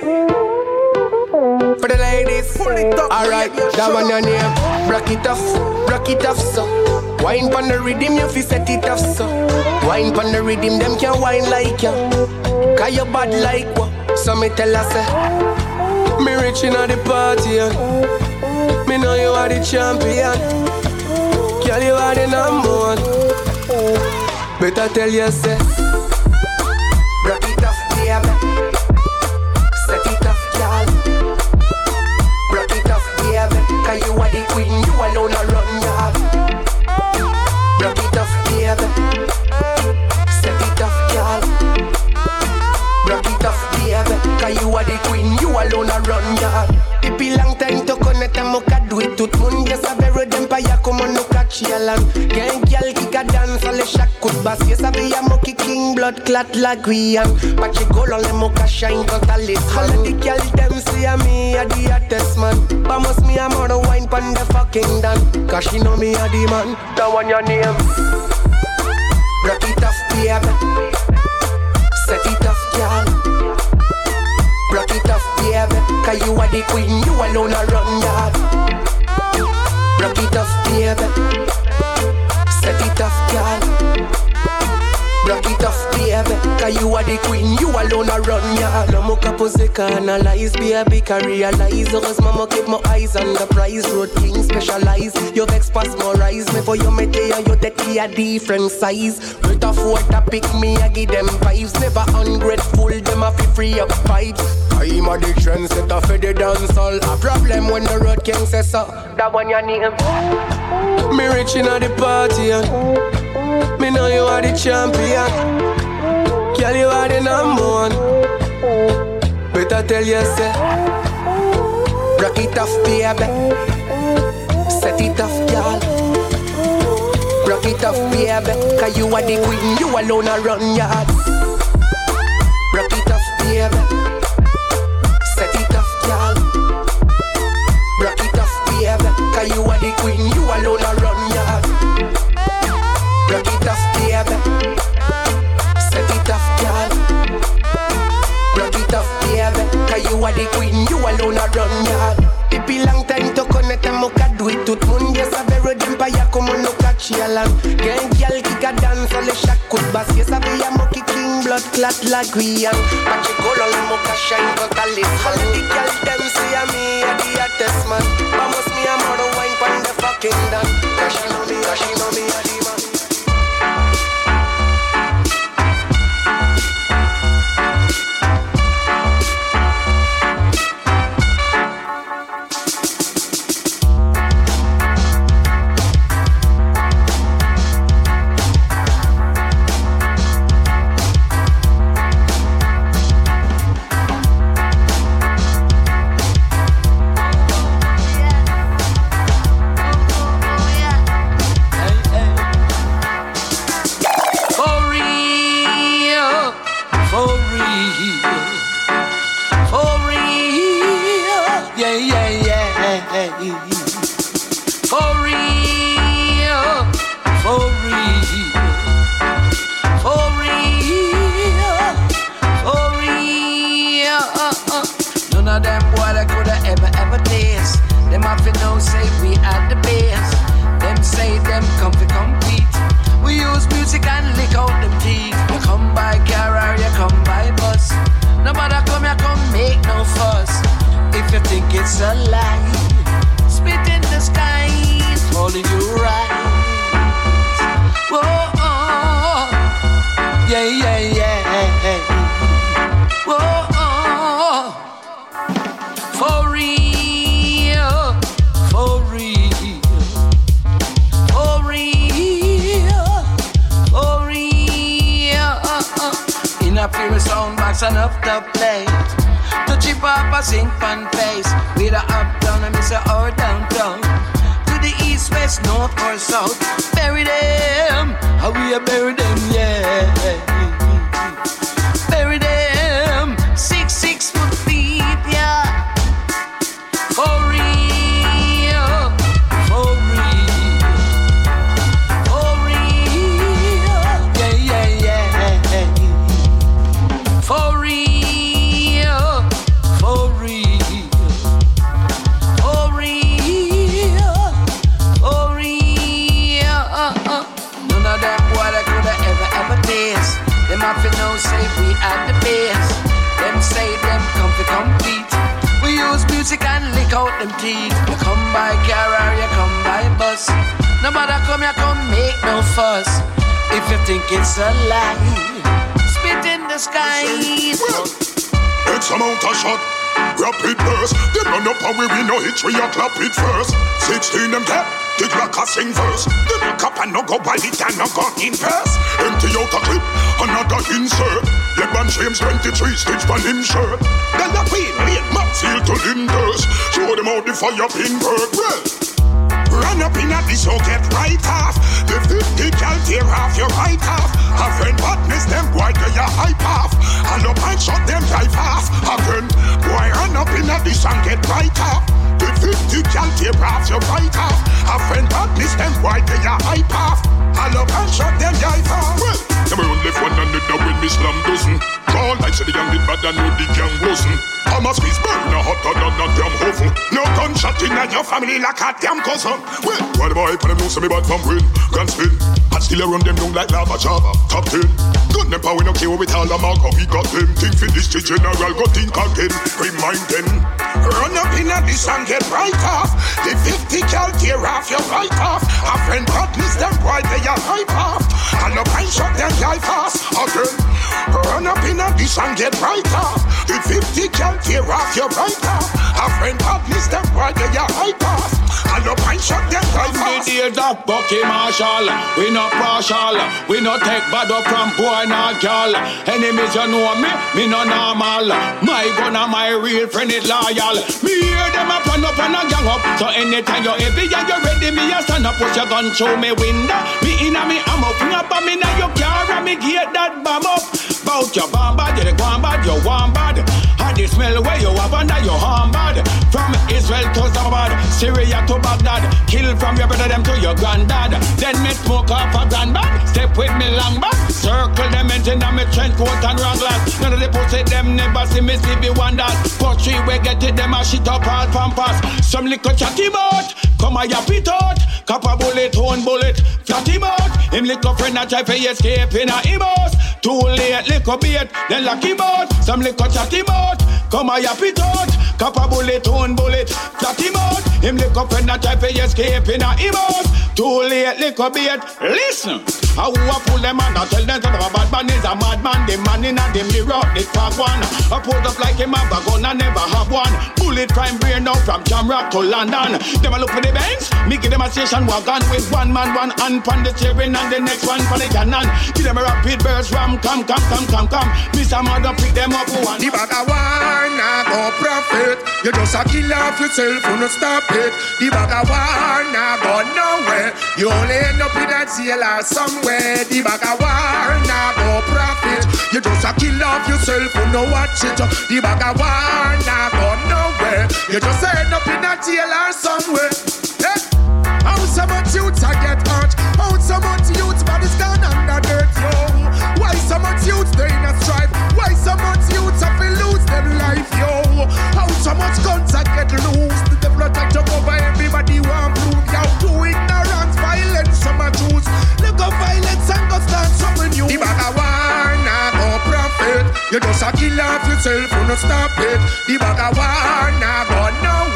for the ladies. Alright, that one your name. Rock it off, rock it off, so. Wine pon the rhythm, you fi set it off, so. Wine pon the rhythm, them can wine like ya. Cause you bad like what? So me tell her say, me rich inna the party, yeah. Me know you are the champion. Girl, you are the number one. Better tell you say, rock it off, baby. Set it off, girl. Rock it off, baby. Cause you are the queen, you alone a run, girl. Rock it off, baby. Set it off, girl. Rock it off, baby. Cause you are the queen, you alone a run, girl. It be long time to connect and muka do it tout moun. Yes, a vero d'empire, come on, no catch yalan. Gang girl kick a dance, all the shack could bass. Yes, a be a monkey king, blood clot like we am. But you go on the mocha shine, cut a list. All of the girl them see a me a the hottest man. But must me a more wine pon the fucking done. Cause she know me a the man. That one your name. Rock it off, baby. Set it off, girl. Rock it off, baby. Cause you are the queen, you alone a run, yard. Rock it off, baby. Set it off, girl. Rock it off, baby. Cause you are the queen, you alone a run, yard. No more couples they can analyze, baby, can realize. Heureusement, keep my eyes on the prize. Road king specialize. You vex past more rise. Before you meet you, you take me a different size. With a four to pick me, I give them vibes. Never ungrateful, them a fi free up vibes. I'm a the trendsetter for the dancehall. A problem when the road king says so. That one your name. Me rich inna the party, yeah. Me know you are the champion. Girl, you are the number one. Better tell you say, rock it off, baby. Set it off, girl. Rock it off, baby. Cause you are the queen, you alone a run yard. Rock it off, baby. Set it off, girl. Rock it off, baby. Cause you are the queen, you alone a run yard. Rock it off, baby. Set it off, girl. Rock it off, baby. Cause you are the queen, you alone a run yard. It be long time to connect and muka do it tout moun. Yes, a vero d'empire, come on, no catch yalan. Gang girl kick a dance, all the shack could bass. Yes, a be a monkey king, blood clot like we am. But you go on the mocha shine, cut a list. All of the girls them see a me a the hottest man. But must me a more wine pon the fucking done. Cause she know me, cause she know me a the man. it's a lie. Spit in the sky, calling you right. Whoa, oh, yeah, yeah, yeah. Whoa, oh, for real, for real, for real, for real. In a pure sound box and up the plate. To chip up a sink pan face. With a up down and miss a or downtown. To the east, west, north or south. Bury them, how we a bury them, yeah. Bury them, six, six foot deep, yeah. For real, for real, for real, yeah, yeah, yeah. For real, for real, for real, for real. None of them boy that coulda ever, ever taste. Them have to know say we at the base. Them say them come to compete. We use music and lick out them teeth. You come by car or you come by bus. Nobody come here come make no fuss. If you think it's a lie, spit in the sky. X amount of shot, rapid burst. They run up and we win no hit, we a clap it first. Sixteen them dead, the clock a sing first. They look up and no go by it and no go in first. Empty out a clip, another insert. LeBron James twenty-three stitch on him shirt. Then the queen, lean, map seal to Linders. Show them out the fire pin bird. Well, run up in a this so get right off. The fifty cal tear off your right half. A friend partners them boy they a hype off. And up and shot them drive off. Again, boy run up in a this and get right off. The fifty cal tear off your right half. A friend partners them boy they a hype off. And up and shot them drive off. Well, never only one another when me slam dozen. Call like say the young did bad and know the gang wasn't. Thomas Peace burn a hotter than a damn hovel. No gunshot in your family like a damn cousin. Well, why the boy put them know say me bad from win. Grand spin, and still I run them down like lava Java. Top ten, gun them power we no care with all the mark we got them. Think for this the general go think again. Remind them, run up in a this and get right off. The fifty cal tear off your right off. A friend partners them boy they a hype off. And up and shot them life fast again. Run up in a this and get right off. The fifty cal tear off your right off. A friend partners them boy they a hype off. And up and shot them life fast. The days of Bucky Marshall, we not partial. We not take bad up from boy nor girl. Enemies you know me, me no normal. My gun and my real friend is loyal. Me hear them a plan up and a gang up. So anytime you heavy and you ready, me a stand up. Push your gun through me window. Me inna me ammo, bring up on me now your car and me get that bomb up. Bout your bomb bad, you the gone bad, you want bad. And the smell where you have under your arm bad. From Israel to Zabad, Syria to Baghdad. Kill from your brother them to your granddad. Then me smoke off a grand bag. Step with me long back. Circle them engine and me trench coat and raglass. None of the pussy them never see me see me one that. But three we get it them a shit up all pampas. Some little chatty bout, come a yap it out. Cap a bullet, one bullet, flat him out. Him little friend a try for escape in a him house. Too late, little bait, then lock him out. Some little chatty bout, come a yap it out. Cap a bullet, one bullet, flat him out. Him little friend a try for escape in a him house. Too late, little bait. Listen, I who a pull them and I tell them that a bad man is a madman. The man in a the mirror, the fag one. I put up like him have a gun and never have one. Bullet crime brain now from Jamrock to London. Them a look for the banks, me give them a station wagon with one man, one hand on the steering and the next one for the cannon. Give them a rapid burst ram, come, come, come, come, come. Mister Mother pick them up for one. The bag of war nah go profit. You just a kill off yourself, you no stop it. The bag of war nah go nowhere. You only end up in a jail or somewhere. The bag of war nah go profit. You just a kill off yourself, you no watch it. The bag of war nah go nowhere. You just end up in a jail or somewhere. Hey. How so much youths I get hurt? How so much youths bodies down under dirt, yo? Why so much youths they in a strife? Why so much youths have to lose their life, yo? How so much guns I get loose? The devil attack jump over everybody want prove, yo. To ignorance, violence, some are choose. Look up violence and go start something new. The bag of war nah go profit. You just a kill off yourself, you no stop it. The bag of war nah go nowhere.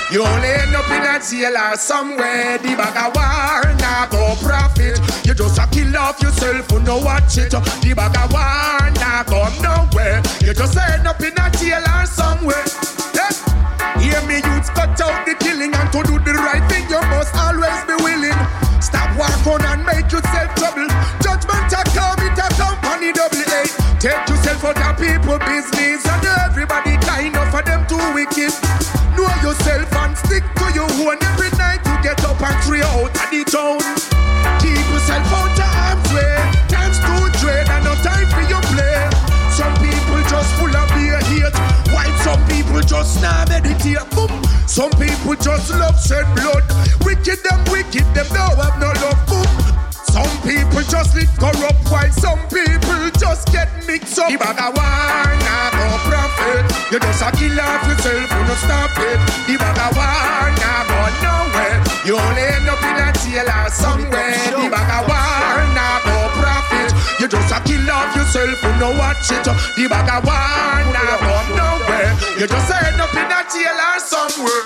You only end up in a jail or somewhere. The bag of war, nah go profit. You just a kill off yourself who no watch it. The bag of war, nah go nowhere. You just end up in a jail or somewhere. Yeah. Hear me youths, cut out the killing. And to do the right thing you must always be willing. Stop walk on and make yourself trouble. Judgment a come, it a come on the double A. Take yourself out of people business. And everybody kind of for them too wicked. Know yourself and stick to your own. Every night you get up and three out of the town. Keep yourself out of harm's way. Time's too dread and no time for you play. Some people just full of beer hate, while some people just now meditate. Boom. Some people just love shed blood. Wicked them wicked, them don't have no love. Boom. Some people just live corrupt, while some people just get mixed up. The bag of war, nah go profit. You just a kill off yourself, you no stop it. The bag of war, nah go nowhere. You only end up in a jail or somewhere. The bag of war, nah go profit. You just a kill off yourself, you no watch it. The bag of war, nah go nowhere. You just end up in a jail or somewhere.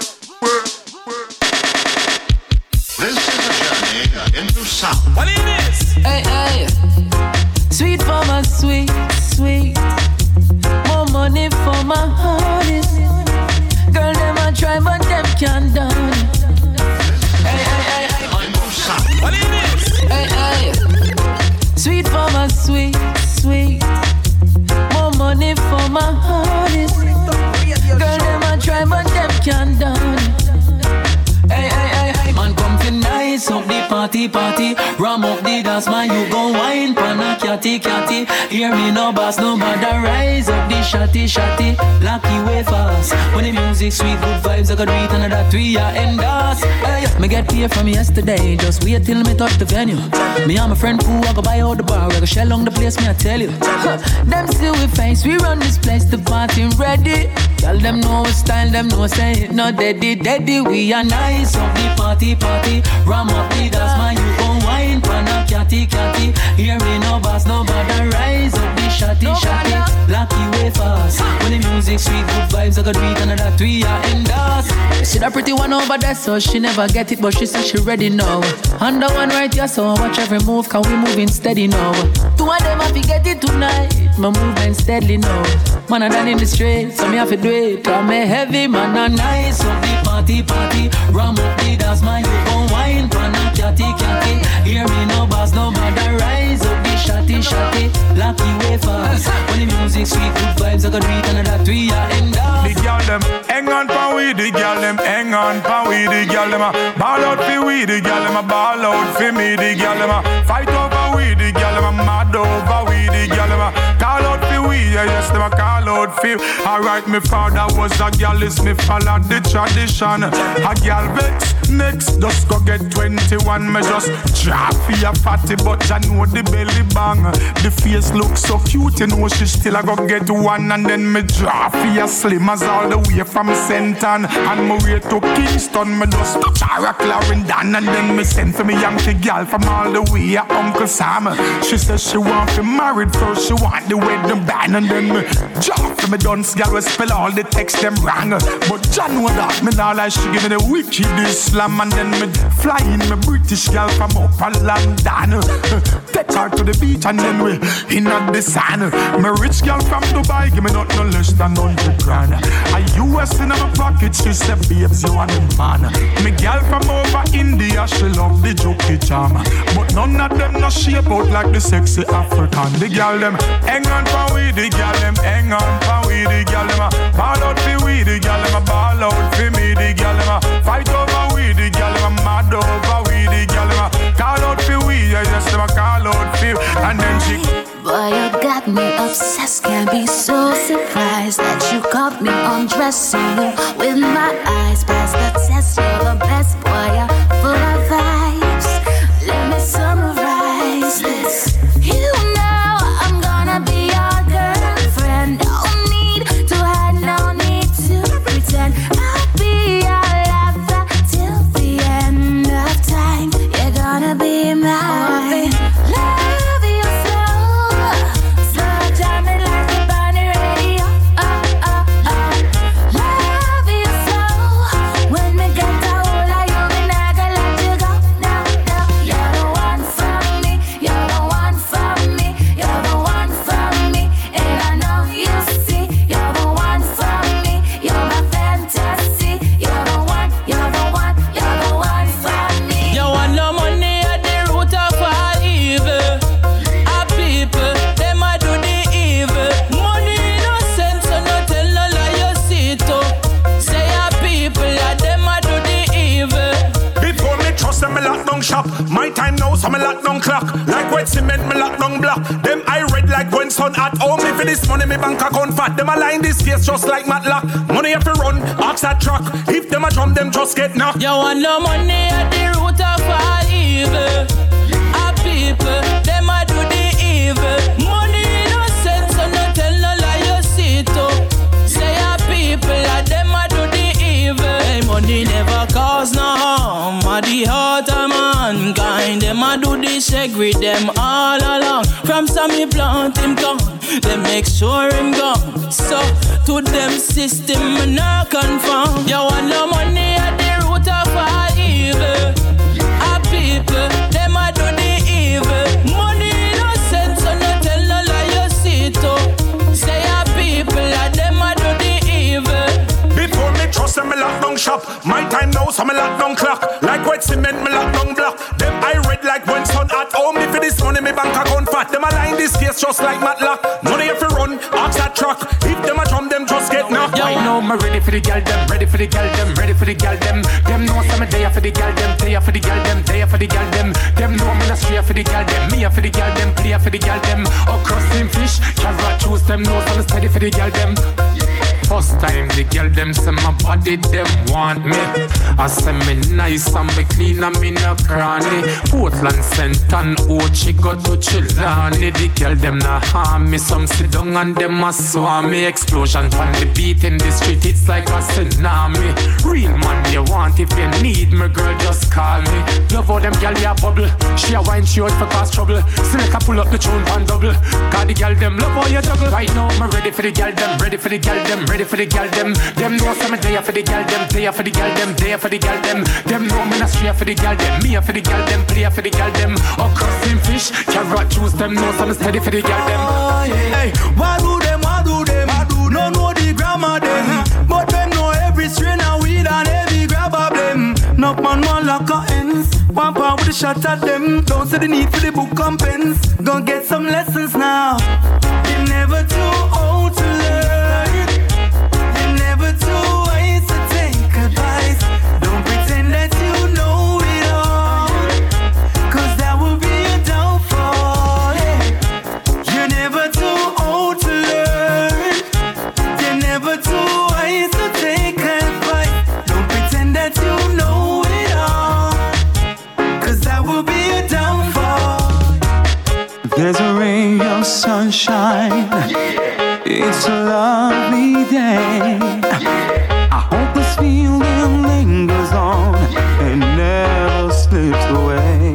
This is a journey into sound. What is this? Hey, hey. Sweet for my sweet, sweet. More money for my honey. Girl, them a try, but them can't done. Hey, hey, hey, hey. What is this? Hey, hey. Sweet for my sweet, sweet. More money for my honey. Girl, them a try, but them can't done. Hey, hey, hey, hey. Man, come fi nice up the party, party. Ram up the dance, man, you gon' wine pana catty, catty. Hear me no boss, no matter. Rise up the shotty, shotty. Lucky way fast. When the music sweet, good vibes, I got read another three, I end us. Hey, me get paid from yesterday. Just wait till me touch the venue. Me and my friend Pooh, I go buy out the bar. I go shell on the place, me I tell you. Them see we face, we run this place, the party ready. Tell them no style, them no say it, no daddy, daddy. We are nice up the party, party. Ram up the dance, man, you gon' wine pana catty, catty. Hear me no boss, no bother. Rise up the shotty, shotty. Lucky way fast. When the music sweet, good vibes, I got read another three, I end us. You see that pretty one over there, so she never get it, but she said she ready now. Under one right here, so watch every move, cause we moving steady now. Two of them have to get it tonight, my movement steadily now. Man, I done in the street, so me have to do it. Cause me heavy, man, I nice up the party, party. Ram up the dance, man, you gon' wine, pana catty, catty. Hear me no boss, no matter. Rise up the shotty, shotty. Lucky way fast. When the music sweet, good vibes, I got read another three, I end up. The girl them hang on pa we, the girl them hang on pa we, the girl them a ball out fi we, the girl them a ball out fi me, the girl them a fight over we, the girl them a mad over we, the girl them a call out fi we, yeah yes them a call out fi. Alright, me father was a girl, is me follow the tradition. A girl vex next, just go get twenty-one. Me just drop fi a fatty, but I know the belly bang. The face look so cute, you know she still a go get one, and then me drop fi a slim as all the way from Senton. And me way to Kingston, me just touch her a Clarendon, and then me send for me Yankee girl from all the way a Uncle Sam. She says she want to married first, she want the wedding band, and then me drop for me dunce girl we spell all the text them wrong. But John know that me now like she give me the wicked Islam, and then me fly in me British girl from up a London. Take her to the beach and then we in at the sand. Me rich girl from Dubai give me not no less than hundred grand. A U S in my pocket, she said babes you want a man. Me girl from over India, she love the jokey charm, but none of them no shape out like the sexy African. The girl them hang on for we, the girl them hang on for we, the girl them a ball out for we, the girl them a ball out for me, the girl them a fight over we, the girl them a mad over we, the girl them a call out for we, yeah yes them a call out for, and then she. Boy, you got me obsessed, can't be so surprised that you caught me undressing you with my eyes past the test. You're the best, boy, you're full of vibes. Let me summarize this. You know I'm gonna be your girlfriend. No need to hide, no need to pretend. I'll be your lover till the end of time. You're gonna be mine. Love you so. So jam it like a bunny radio. Oh, oh, oh. Love shop. My time now, so me lock down clock. Like wet cement, me lock down block. Them I red like when sun hot. Oh, me for this money, me bank account fat. Them a line this case just like Matlock. Money if you run, ox that truck. If them a drum, them just get knocked. You want no money at the root of all evil. A people, them a do the evil. Money innocent, so no tell no lie you see to. Say a people, a them a do the evil. Hey, money never cause no harm. A the heart of mankind. Them a do the shake with them all along. From some he plant him gone, they make sure him gone. So to them system me not conform. You want no money at the root of all evil. A people, them a do the evil. Money innocent, so no tell no lie you see to. Say a people, a them a do the evil. Before me trust them, me lock down shop. My time now, so me lock down clock. Like wet cement, me lock down block. Them I red like when sun hot. Oh, me for this money, me bank account fat. Them a line this case just like Matlock. Money if you run, ox that truck. If them a drum, them just get knocked. I know me ready for the gal them, ready for the gal them, ready for the gal them. Them know some day for the gal them, day for the gal them, day for the gal them. Them know me not straight for the gal them, me for the gal them, play for the gal them. Oh, crossing fish, carrot choose them, know some steady for the gal them. First time the girl them say my body them want me. I say me nice and me clean and me no cranny. Portland, Saint and Ochi go to Chilani. The girl them na harm me. Some sit down and them a swarm me. Explosion on the beat in the street, it's like a tsunami. Real man you want, if you need me girl just call me. Love how them girl ya bubble. She a wine she out for cause trouble. Select a pull up the tune and double. Cause the girl them love how you juggle. Right now me ready for the girl them, ready for the girl them, ready for the girl them. Them know some day for the girl them, day for the girl them, day for the girl them. Them know me not straight for the girl them, me for the girl them, play for the girl them. Oh, crossing fish, carrot juice them, know some steady for the girl them. Oh, yeah. Hey, why do them, why do them, why do no know the grammar them, uh-huh. But them know every strain of weed and every grab of them. Knock man one lock of ends, one power with a shot at them. Don't see the need for the book and pens. Gonna get some lessons now. You're never too old to learn. Never too wise to take advice. Don't pretend that you know it all, cause that will be a downfall, yeah. You're never too old to learn. You're never too wise to take advice. Don't pretend that you know it all, cause that will be a downfall. There's a ray of sunshine, yeah. It's a lovely day. I hope this feeling lingers on and never slips away.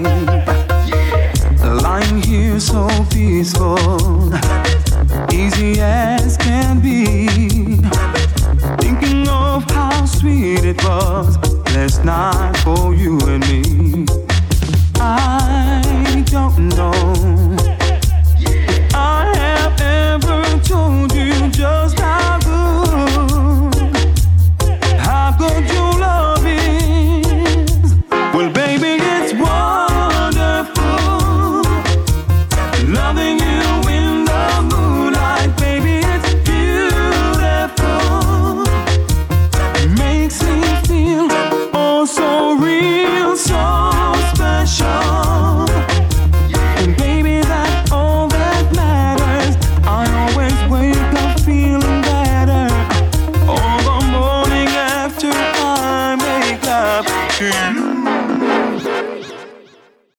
Lying here so peaceful, easy as can be, thinking of how sweet it was last night for you and me. I don't know